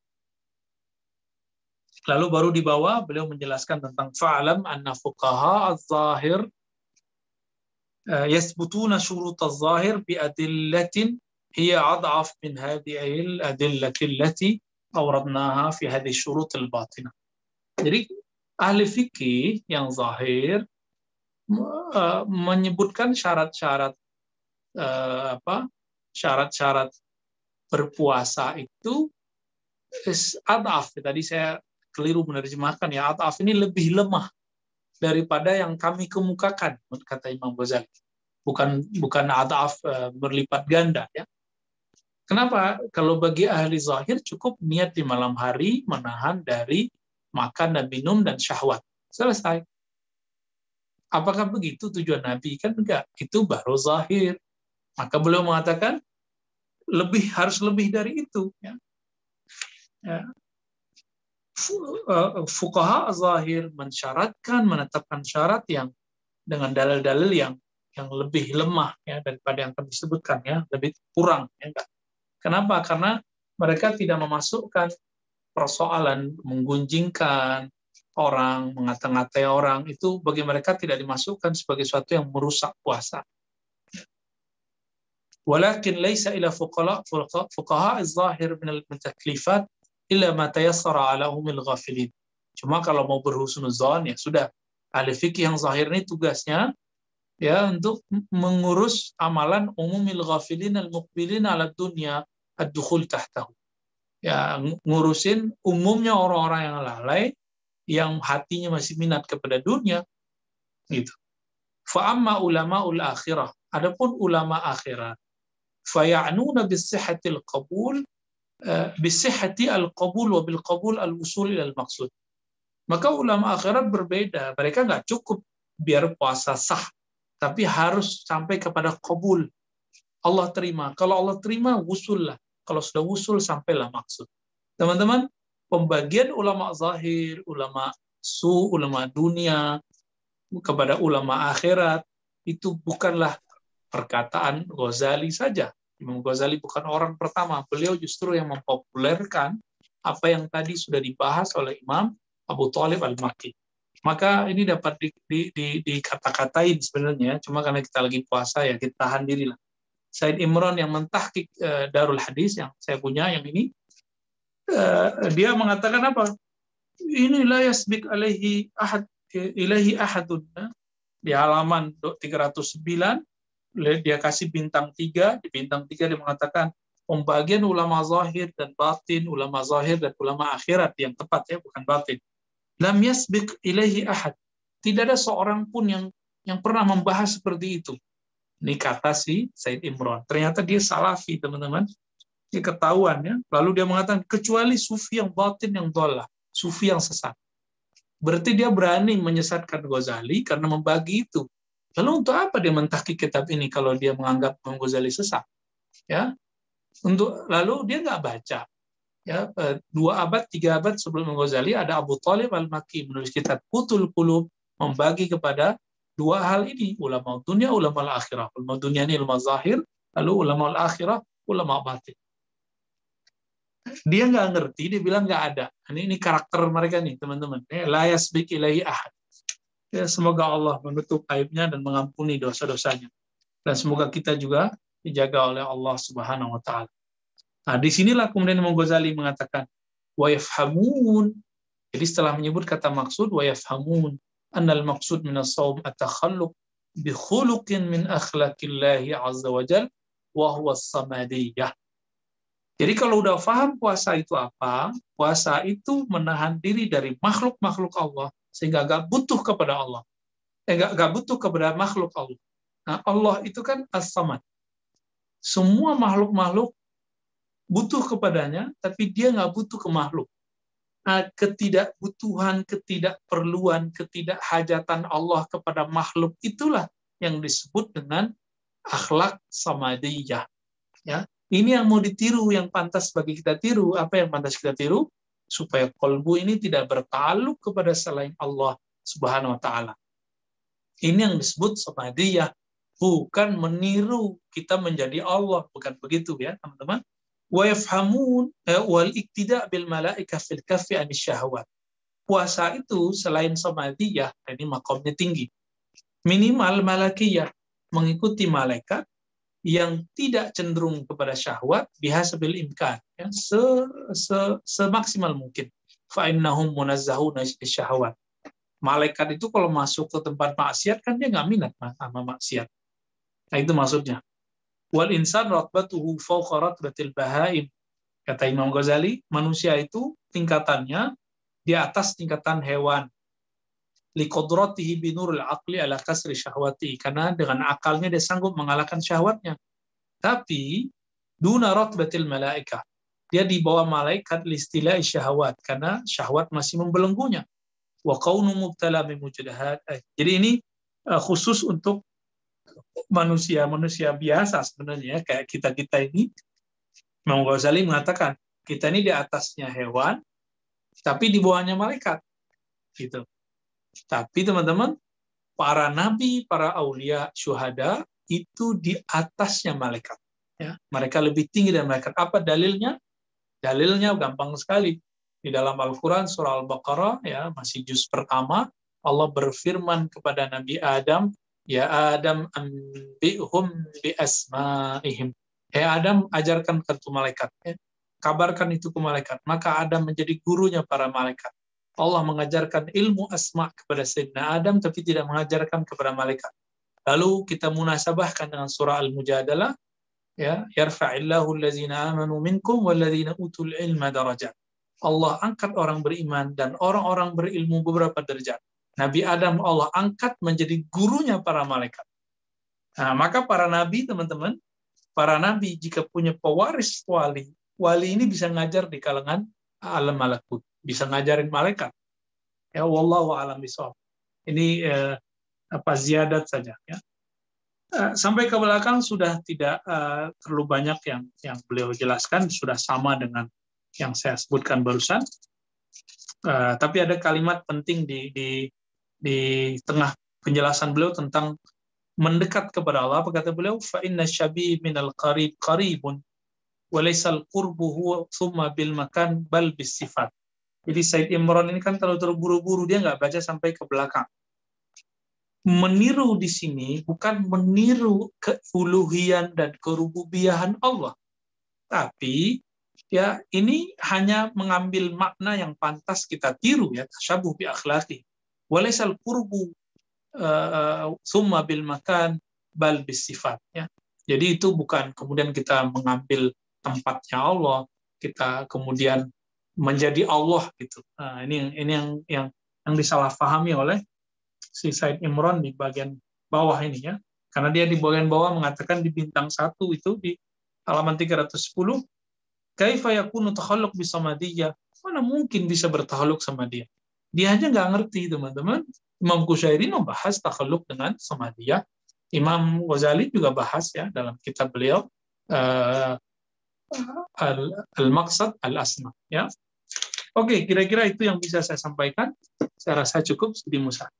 Lalu baru di bawah beliau menjelaskan tentang fa'alam anna fuqaha az-zahir yasbutuna syurut az-zahir bi adillatin hiya ad'af min hadhihi al-adillati allati awradnaha fi hadhihi syurut al-batinah. Jadi ahli fikih yang zahir Uh, menyebutkan syarat-syarat uh, apa syarat-syarat berpuasa itu adaf. Tadi saya keliru menerjemahkan ya, adaf ini lebih lemah daripada yang kami kemukakan, kata Imam Ghazali. Bukan bukan adaf uh, berlipat ganda ya. Kenapa? Kalau bagi ahli zahir cukup niat di malam hari menahan dari makan dan minum dan syahwat. Selesai. Apakah begitu tujuan Nabi? Kan enggak. Itu baru zahir. Maka beliau mengatakan lebih harus lebih dari itu. Ya. Ya. Fuqaha zahir mensyaratkan, menetapkan syarat yang dengan dalil-dalil yang yang lebih lemah ya daripada yang kami sebutkan ya, lebih kurang. Ya. Kenapa? Karena mereka tidak memasukkan persoalan menggunjingkan, orang, mengata-ngatai orang, itu bagi mereka tidak dimasukkan sebagai sesuatu yang merusak puasa. Walakin laisa ila fuqaha fuqaha az-zahir min al-taklifat illa ma tayassara ala umil ghafilin. Cuma kalau mau berhusnuzon ya sudah, ahli fikih yang zahir ini tugasnya ya untuk mengurus amalan umumil ghafilin al-muqbilin ala dunya ad-dukhul tahtahu. Ya, ngurusin umumnya orang-orang yang lalai yang hatinya masih minat kepada dunia gitu. Fa amma ulama'ul akhirah, adapun ulama akhirat, fa ya'nuna bis-sihhatil qabul bis-sihhati al-qabul wa bil qabul al-wusul ila al-maqsud. Maka ulama akhirat berbeda, mereka nggak cukup biar puasa sah, tapi harus sampai kepada qabul. Allah terima. Kalau Allah terima, wusul lah. Kalau sudah wusul, sampailah maksud. Teman-teman, pembagian ulama zahir, ulama su, ulama dunia, kepada ulama akhirat, itu bukanlah perkataan Ghazali saja. Imam Ghazali bukan orang pertama. Beliau justru yang mempopulerkan apa yang tadi sudah dibahas oleh Imam Abu Thalib Al-Makki. Maka ini dapat di, di, di, dikata-katain sebenarnya, cuma karena kita lagi puasa ya kita tahan diri lah. Said Imran yang mentahqiq uh, Darul Hadis yang saya punya yang ini, uh, dia mengatakan apa? Ini la yasbiq alaihi ahad ilaihi ahadun. Di halaman tiga ratus sembilan dia kasih bintang tiga, di bintang tiga dia mengatakan pembagian ulama zahir dan batin, ulama zahir dan ulama akhirat yang tepat ya, bukan batin. Lam yasbiq ilaihi ahad. Tidak ada seorang pun yang yang pernah membahas seperti itu. Ini kata si Said Imran. Ternyata dia salafi, teman-teman. Ini ketahuan ya. Lalu dia mengatakan, kecuali sufi yang batin yang dhalah, sufi yang sesat. Berarti dia berani menyesatkan Ghazali karena membagi itu. Lalu untuk apa dia mentahqiq kitab ini kalau dia menganggap Imam Ghazali sesat? Ya. Untuk lalu dia nggak baca. Ya, dua abad, tiga abad sebelum Imam Ghazali ada Abu Thalib Al-Makki menulis kitab Qutul Qulub, membagi kepada dua hal ini, ulama dunia, ulama al-akhirah. Ulama dunia ini ulama zahir, lalu ulama al-akhirah, ulama batin. Dia nggak ngerti, dia bilang nggak ada. Ini, ini karakter mereka nih, teman-teman. La yasbiq ilaihi ahad. Ya, semoga Allah menutup aibnya dan mengampuni dosa-dosanya. Dan semoga kita juga dijaga oleh Allah Subhanahu wa taala. Nah, disinilah kemudian Imam Ghazali mengatakan wa yafhamun. Jadi setelah menyebut kata maksud wa yafhamun, annal maqsud min as-shaum at-takhalluq bi khuluqin min akhlaqillahi azza wa jalla wa huwa as-samadiyah. Jadi kalau udah paham puasa itu apa, puasa itu menahan diri dari makhluk-makhluk Allah sehingga gak butuh kepada Allah. Eh, gak, gak butuh kepada makhluk Allah. Nah, Allah itu kan as-samad. Semua makhluk-makhluk butuh kepadanya, tapi dia gak butuh ke makhluk. Nah, ketidakbutuhan, ketidakperluan, ketidakhajatan Allah kepada makhluk itulah yang disebut dengan akhlak samadiyah. Ya, ini yang mau ditiru, yang pantas bagi kita tiru. Apa yang pantas kita tiru? Supaya kolbu ini tidak bertaluk kepada selain Allah Subhanahu wa taala. Ini yang disebut samadiyah, bukan meniru kita menjadi Allah, bukan begitu ya, teman-teman. Wa yafhamun wal iktida' bil malaikah fil kaffi anis syahwat. Puasa itu selain samadiyah, ini makamnya tinggi. Minimal malakiyah, mengikuti malaikat yang tidak cenderung kepada syahwat bihasabil imkan, ya, se, se, semaksimal mungkin. Fa innahum munazzahuna syahwat. Malaikat itu kalau masuk ke tempat maksiat kan dia nggak minat sama maksiat. Nah, itu maksudnya. Wal insan ratbatuhu fawqa ratbatil bahaim. Kata Imam Ghazali, manusia itu tingkatannya di atas tingkatan hewan. Liqadratihi binurul aqli ala kasri syahwati, karena dengan akalnya dia sanggup mengalahkan syahwatnya. Tapi duna ratbatil malaikah, dia di bawah malaikat listila'i syahwat, karena syahwat masih membelenggunya. Wa qaunu mubtala bimujahadat. Jadi ini uh, khusus untuk manusia-manusia biasa sebenarnya, kayak kita-kita ini. Imam Ghazali mengatakan, kita ini di atasnya hewan, tapi di bawahnya malaikat. Gitu. Tapi teman-teman, para nabi, para aulia, syuhada, itu di atasnya malaikat. Ya, mereka lebih tinggi dari malaikat. Apa dalilnya? Dalilnya gampang sekali. Di dalam Al-Quran surah Al-Baqarah ya masih juz pertama, Allah berfirman kepada Nabi Adam, ya Adam anbi'hum bi asma'ihim. Hei Adam, ajarkan ke malaikat, ya. Kabarkan itu ke malaikat. Maka Adam menjadi gurunya para malaikat. Allah mengajarkan ilmu asma kepada Sayyidina Adam, tapi tidak mengajarkan kepada malaikat. Lalu kita munasabahkan dengan surah Al-Mujadalah, ya, yarfa'illahu allazina amanu minkum wallazina utul ilma darajat. Allah angkat orang beriman dan orang-orang berilmu beberapa derajat. Nabi Adam Allah angkat menjadi gurunya para malaikat. Nah, maka para nabi, teman-teman, para nabi jika punya pewaris wali, wali ini bisa ngajar di kalangan alam malakut, bisa ngajarin malaikat. Ya, wallahu a'lam bishawab. Ini eh, apa ziyadat saja, ya. Eh, sampai ke belakang sudah tidak eh, terlalu banyak yang yang beliau jelaskan, sudah sama dengan yang saya sebutkan barusan. Uh, tapi ada kalimat penting di, di di tengah penjelasan beliau tentang mendekat kepada Allah. Apa kata beliau? Fa inna syabi minal qarib qaribun wa laysal qurbu huwa thumma bil makan bal bis sifat. Jadi Said Imran ini kan terlalu terburu-buru, dia nggak baca sampai ke belakang. Meniru di sini bukan meniru keuluhian dan kerububiyahan Allah, tapi ya ini hanya mengambil makna yang pantas kita tiru, ya, tasyabuh bi akhlaqi. Walaisal qurbu uh, summa bil makan bal bis sifat, ya. Jadi itu bukan kemudian kita mengambil tempatnya Allah, kita kemudian menjadi Allah gitu. Nah, ini ini yang yang yang disalahpahami oleh si Said Imran di bagian bawah ini, ya. Karena dia di bagian bawah mengatakan di bintang satu itu di halaman tiga ratus sepuluh, kaifa yakunu takhalluq bisamadiyah? Mana mungkin bisa bertakhaluk sama dia? Dia aja nggak ngerti, teman-teman. Imam Qushairi membahas takhaluk dengan samadiyah. Imam Ghazali juga bahas, ya, dalam kitab beliau uh, Al-Maqsad Al-Asma, ya. Oke, kira-kira itu yang bisa saya sampaikan. Saya rasa cukup, Sidi Musa.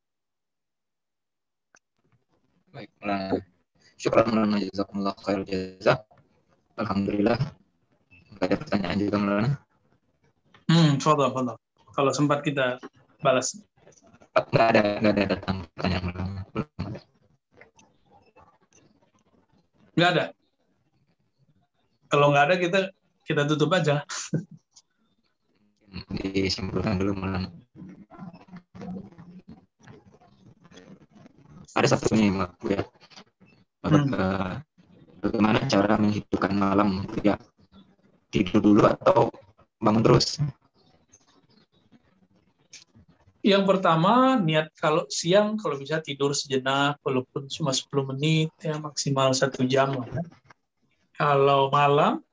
Baik, Maulana. Syukran Maulana, jazakumullah khair jazak. Alhamdulillah. Nggak ada pertanyaan juga, Maulana. Hmm, fadhal, fadhal. Kalau sempat kita balas. Nggak ada, nggak ada datang pertanyaan, Maulana. Nggak ada. Kalau nggak ada, kita kita tutup aja. Disimpulkan dulu, Maulana. Ada satu nih, Bu, ya. Hmm. Bagaimana cara menghidupkan malam, ya? Tidur dulu atau bangun terus? Yang pertama, niat kalau siang, kalau bisa tidur sejenak, walaupun cuma sepuluh menit, ya, maksimal satu jam. Ya. Kalau malam,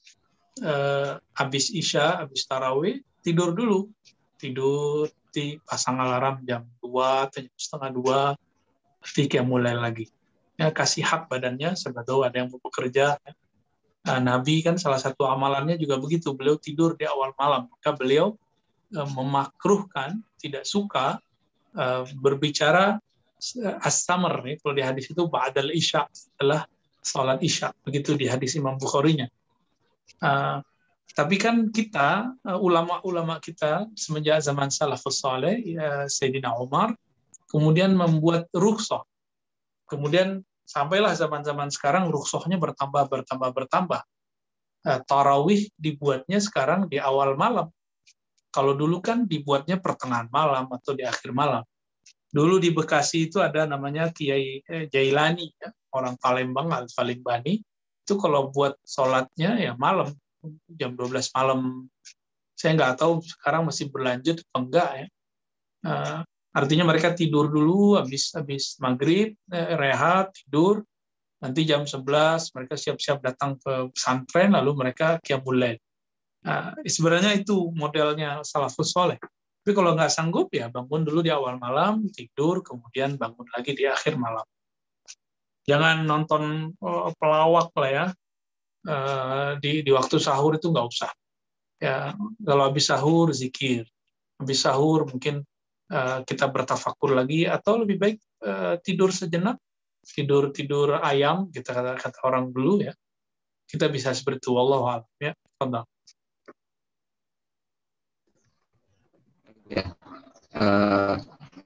eh, habis Isya, habis Tarawih, tidur dulu. Tidur, di pasang alarm jam dua, atau jam setengah dua, nanti kayak mulai lagi. Ya, kasih hak badannya, siapa tahu ada yang mau bekerja. Ya. Nah, Nabi kan salah satu amalannya juga begitu, beliau tidur di awal malam, maka beliau eh, memakruhkan, tidak suka uh, berbicara as-samar, nih, kalau di hadis itu ba'dal isya, setelah salat isya, begitu di hadis Imam Bukhari-nya. Uh, tapi kan kita, uh, ulama-ulama kita semenjak zaman salafus saleh, ya, Sayyidina Umar, kemudian membuat rukhsah. Kemudian sampailah zaman-zaman sekarang rukhsahnya bertambah, bertambah, bertambah. Uh, tarawih dibuatnya sekarang di awal malam. Kalau dulu kan dibuatnya pertengahan malam atau di akhir malam. Dulu di Bekasi itu ada namanya Kiai Jailani, ya, orang Palembang, Al-Falimbani. Itu kalau buat sholatnya ya malam, jam dua belas malam. Saya nggak tahu sekarang masih berlanjut atau enggak, ya. Uh, artinya mereka tidur dulu, habis habis maghrib, eh, rehat, tidur. Nanti jam sebelas mereka siap-siap datang ke pesantren, lalu mereka qiyamul lail. Nah, sebenarnya itu modelnya salafus soleh. Tapi kalau nggak sanggup, ya bangun dulu di awal malam, tidur, kemudian bangun lagi di akhir malam. Jangan nonton oh, pelawak lah, ya. Uh, di, di waktu sahur itu nggak usah. Ya, kalau habis sahur, zikir. Habis sahur mungkin uh, kita bertafakur lagi, atau lebih baik uh, tidur sejenak, tidur tidur ayam, kita kata, kata orang dulu, ya. Kita bisa seperti itu, wallahu a'lam, ya. Tentang. Ya. Uh,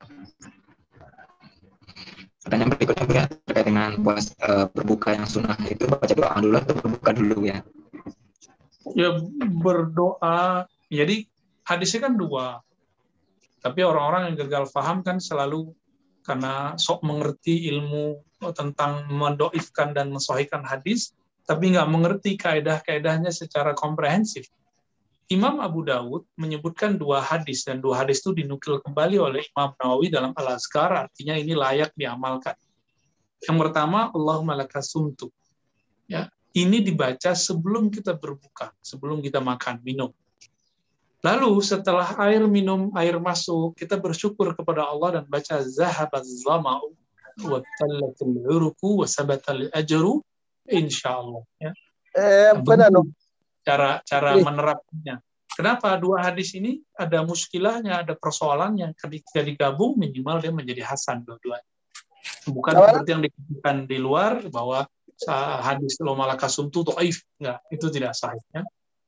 pertanyaan berikutnya ya, terkait dengan puas uh, berbuka yang sunnah itu baca doa dulu atau berbuka dulu ya? Ya berdoa. Jadi hadisnya kan dua. Tapi orang-orang yang gagal paham kan selalu karena sok mengerti ilmu tentang mendoifkan dan mensohikan hadis, tapi nggak mengerti kaedah-kaedahnya secara komprehensif. Imam Abu Dawud menyebutkan dua hadis, dan dua hadis itu dinukil kembali oleh Imam Nawawi dalam Al-Azkar, artinya ini layak diamalkan. Yang pertama, Allahumma laka sumtu. Ya, ini dibaca sebelum kita berbuka, sebelum kita makan, minum. Lalu setelah air minum, air masuk, kita bersyukur kepada Allah dan baca zahabaz zama'u wa tallatul uruku wa sabatal ajru insyaallah ya. Eh, benar dong. Cara cara menerapkannya. Kenapa dua hadis ini ada muskilahnya, ada persoalannya, ketika digabung minimal dia menjadi hasan dua-duanya. Bukan Apa? seperti yang dikatakan di luar bahwa hadis lo malakasum itu dhaif, enggak, itu tidak sahih ya.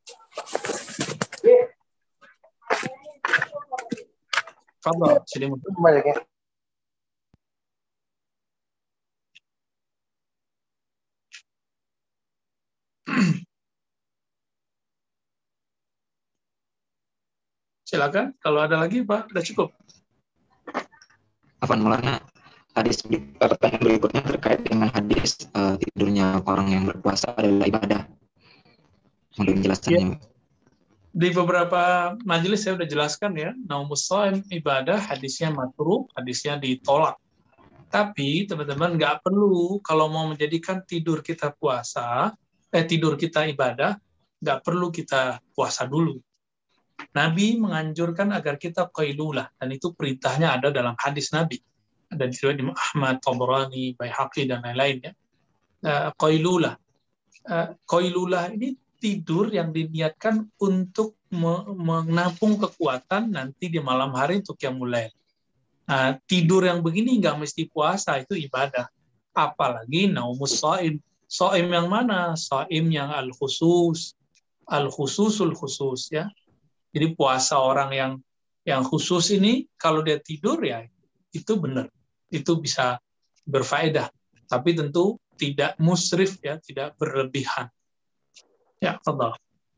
Fadhal, sini Banyak ya. Silakan, kalau ada lagi Pak, sudah cukup. Afwan Maulana, hadis pertanyaan berikutnya terkait dengan hadis uh, tidurnya orang yang berpuasa adalah ibadah. Mohon penjelasannya. Ya. Di beberapa majelis saya sudah jelaskan ya, naumus shaim ibadah, hadisnya makruh, hadisnya ditolak. Tapi teman-teman nggak perlu kalau mau menjadikan tidur kita puasa, eh tidur kita ibadah, nggak perlu kita puasa dulu. Nabi menganjurkan agar kita qailulah, dan itu perintahnya ada dalam hadis Nabi. Ada di riwayat Ahmad, Tabrani, Baihaqi dan lain-lain ya. Uh, qailulah. Uh, qailulah ini tidur yang diniatkan untuk menampung kekuatan nanti di malam hari untuk yang mulai. Nah, tidur yang begini nggak mesti puasa, itu ibadah. Apalagi naumus shaim. Shaim yang mana? Shaim yang al-khusus. Al-khususul khusus ya. Jadi puasa orang yang yang khusus ini kalau dia tidur ya itu benar. Itu bisa berfaedah. Tapi tentu tidak musrif ya, tidak berlebihan. Ya, fadhal.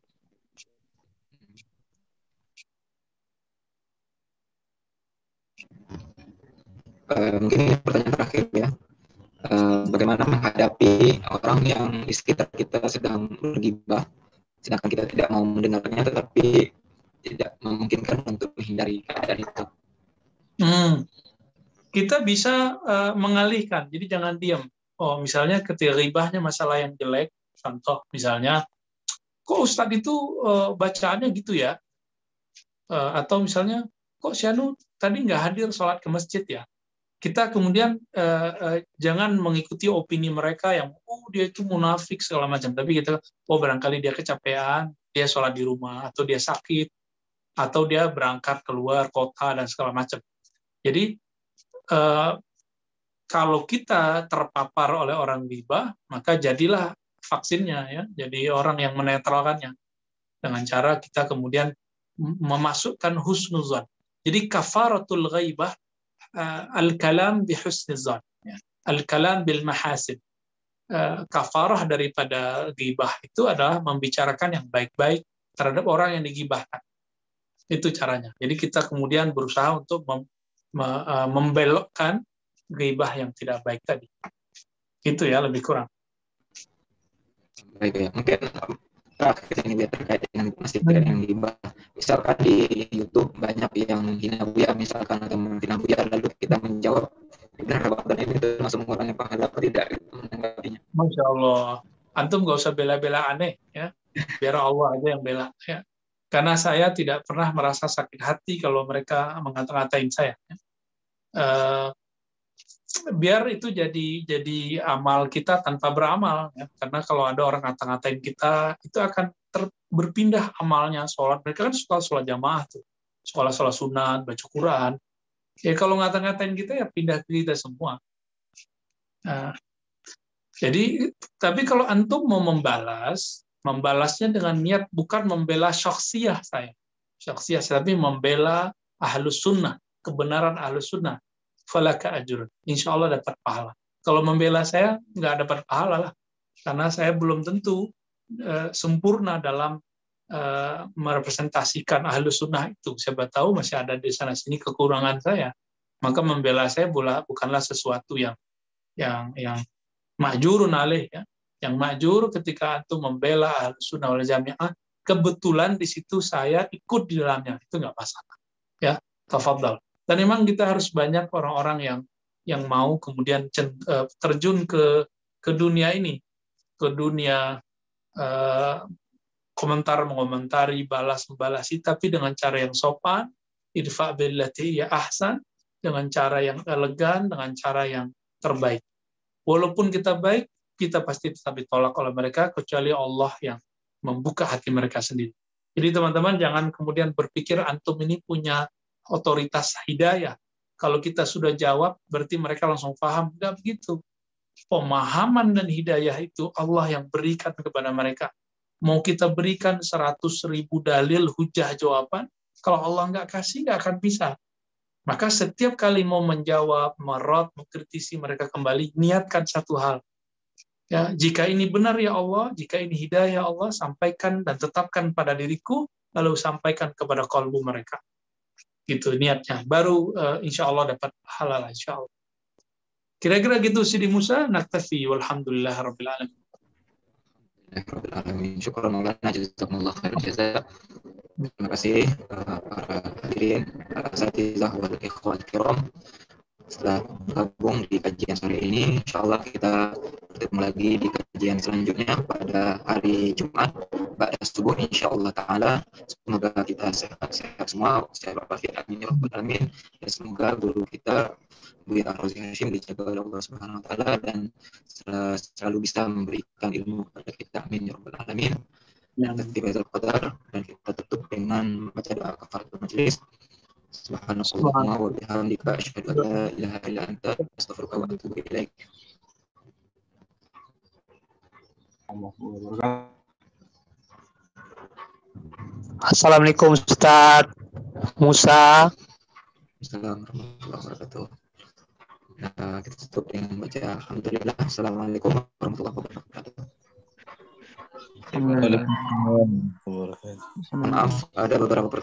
Uh, mungkin ini pertanyaan terakhir ya. Uh, bagaimana menghadapi orang yang di sekitar kita sedang bergibah, sedangkan kita tidak mau mendengarnya, tetapi tidak memungkinkan untuk menghindari keadaan itu. Hmm. Kita bisa uh, mengalihkan, jadi jangan diam. Oh, misalnya ketika ribahnya masalah yang jelek, contoh misalnya, kok Ustadz itu uh, bacaannya gitu ya? Uh, atau misalnya, kok si Anu tadi nggak hadir sholat ke masjid ya? Kita kemudian uh, uh, jangan mengikuti opini mereka yang, oh dia itu munafik segala macam. Tapi kita, oh barangkali dia kecapean, dia sholat di rumah, atau dia sakit, atau dia berangkat keluar kota dan segala macam. Jadi uh, kalau kita terpapar oleh orang ghibah, maka jadilah vaksinnya ya, jadi orang yang menetralkannya dengan cara kita kemudian memasukkan husnuzan. Jadi kafaratul ghaibah uh, al-kalam bi husnuzan, ya. Al-kalam bil mahasin. Uh, kafarah daripada ghibah itu adalah membicarakan yang baik-baik terhadap orang yang dighibahkan. Itu caranya. Jadi kita kemudian berusaha untuk mem, me, uh, membelokkan ghibah yang tidak baik tadi. Itu ya lebih kurang. Baik ya, mungkin terakhir ini terkait dengan masih terkait dengan ghibah. Misalkan di YouTube banyak yang menghina Buya misalkan atau menghina Buya, lalu kita menjawab benar dan ini termasuk mengurangi pahala atau tidak menanggapinya. Masya Allah, antum nggak usah bela-bela aneh ya, biar Allah aja yang bela ya. Karena saya tidak pernah merasa sakit hati kalau mereka mengata-ngatain saya. Ya. Uh, biar itu jadi jadi amal kita tanpa beramal ya. Karena kalau ada orang ngata-ngatain kita itu akan ter, berpindah amalnya. Sholat mereka kan suka sholat jamaah tuh, sekolah sholat sunat, baca Quran ya. Kalau ngata-ngatain kita ya pindah ke kita semua. Nah, jadi tapi kalau antum mau membalas, membalasnya dengan niat bukan membela syakhsiyah saya syakhsiyah tapi membela ahlus sunnah, kebenaran ahlus sunnah, falaka ajrun. Insya Allah dapat pahala. Kalau membela saya, nggak dapat pahala lah. Karena saya belum tentu uh, sempurna dalam uh, merepresentasikan ahlus sunnah itu. Siapa tahu masih ada di sana-sini kekurangan saya. Maka membela saya bukanlah sesuatu yang yang yang ma'jurun alaih, ya. Yang ma'jur ketika antum membela ahlus sunnah wal jami'ah, kebetulan di situ saya ikut di dalamnya, itu nggak masalah. Ya, tafadhal. Dan memang kita harus banyak orang-orang yang yang mau kemudian terjun ke ke dunia ini, ke dunia uh, komentar mengomentari, balas membalasi, tapi dengan cara yang sopan, idfa billati ya ahsan, dengan cara yang elegan, dengan cara yang terbaik. Walaupun kita baik, kita pasti tetap ditolak oleh mereka, kecuali Allah yang membuka hati mereka sendiri. Jadi teman-teman jangan kemudian berpikir antum ini punya otoritas hidayah. Kalau kita sudah jawab, berarti mereka langsung paham. Tidak begitu. Pemahaman dan hidayah itu Allah yang berikan kepada mereka. Mau kita berikan seratus ribu dalil, hujah, jawaban, kalau Allah nggak kasih, nggak akan bisa. Maka setiap kali mau menjawab, merot, mengkritisi mereka kembali, niatkan satu hal. Ya, jika ini benar ya Allah, jika ini hidayah ya Allah, sampaikan dan tetapkan pada diriku, lalu sampaikan kepada kalbu mereka. Gitu niatnya. Baru uh, insya Allah dapat halal insya Allah. Kira-kira gitu Sidi Musa, naktafi walhamdulillah rabbil alamin. Rabbil alamin. Syukran Maulana, jazakumullah khair jazaa. Terima kasih uh, para hadirin, para asatizah wal ikhwan kiram. Setelah bergabung di kajian sore ini, insya Allah kita bertemu lagi di kajian selanjutnya pada hari Jumat pada subuh insya Allah Ta'ala. Semoga kita sehat-sehat semua, sehat walafiat, amin ya rabbal alamin. Dan semoga guru kita Buya Rozi Hashim dijaga oleh Allah Subhanahu Wa Ta'ala dan selalu bisa memberikan ilmu kepada kita, amin ya rabbal alamin. Tertibatul qadar, dan kita tutup dengan membaca doa kafaratul majelis. Subhanallah wa bihamdika asyhadu an la ilaha illa anta astaghfiruka wa atubu ilaik. Assalamualaikum Ustaz Musa. Assalamualaikum warahmatullahi wabarakatuh. Nah, kita tutup dengan baca alhamdulillah. Assalamualaikum warahmatullahi wabarakatuh. Maaf, ada beberapa pertanyaan.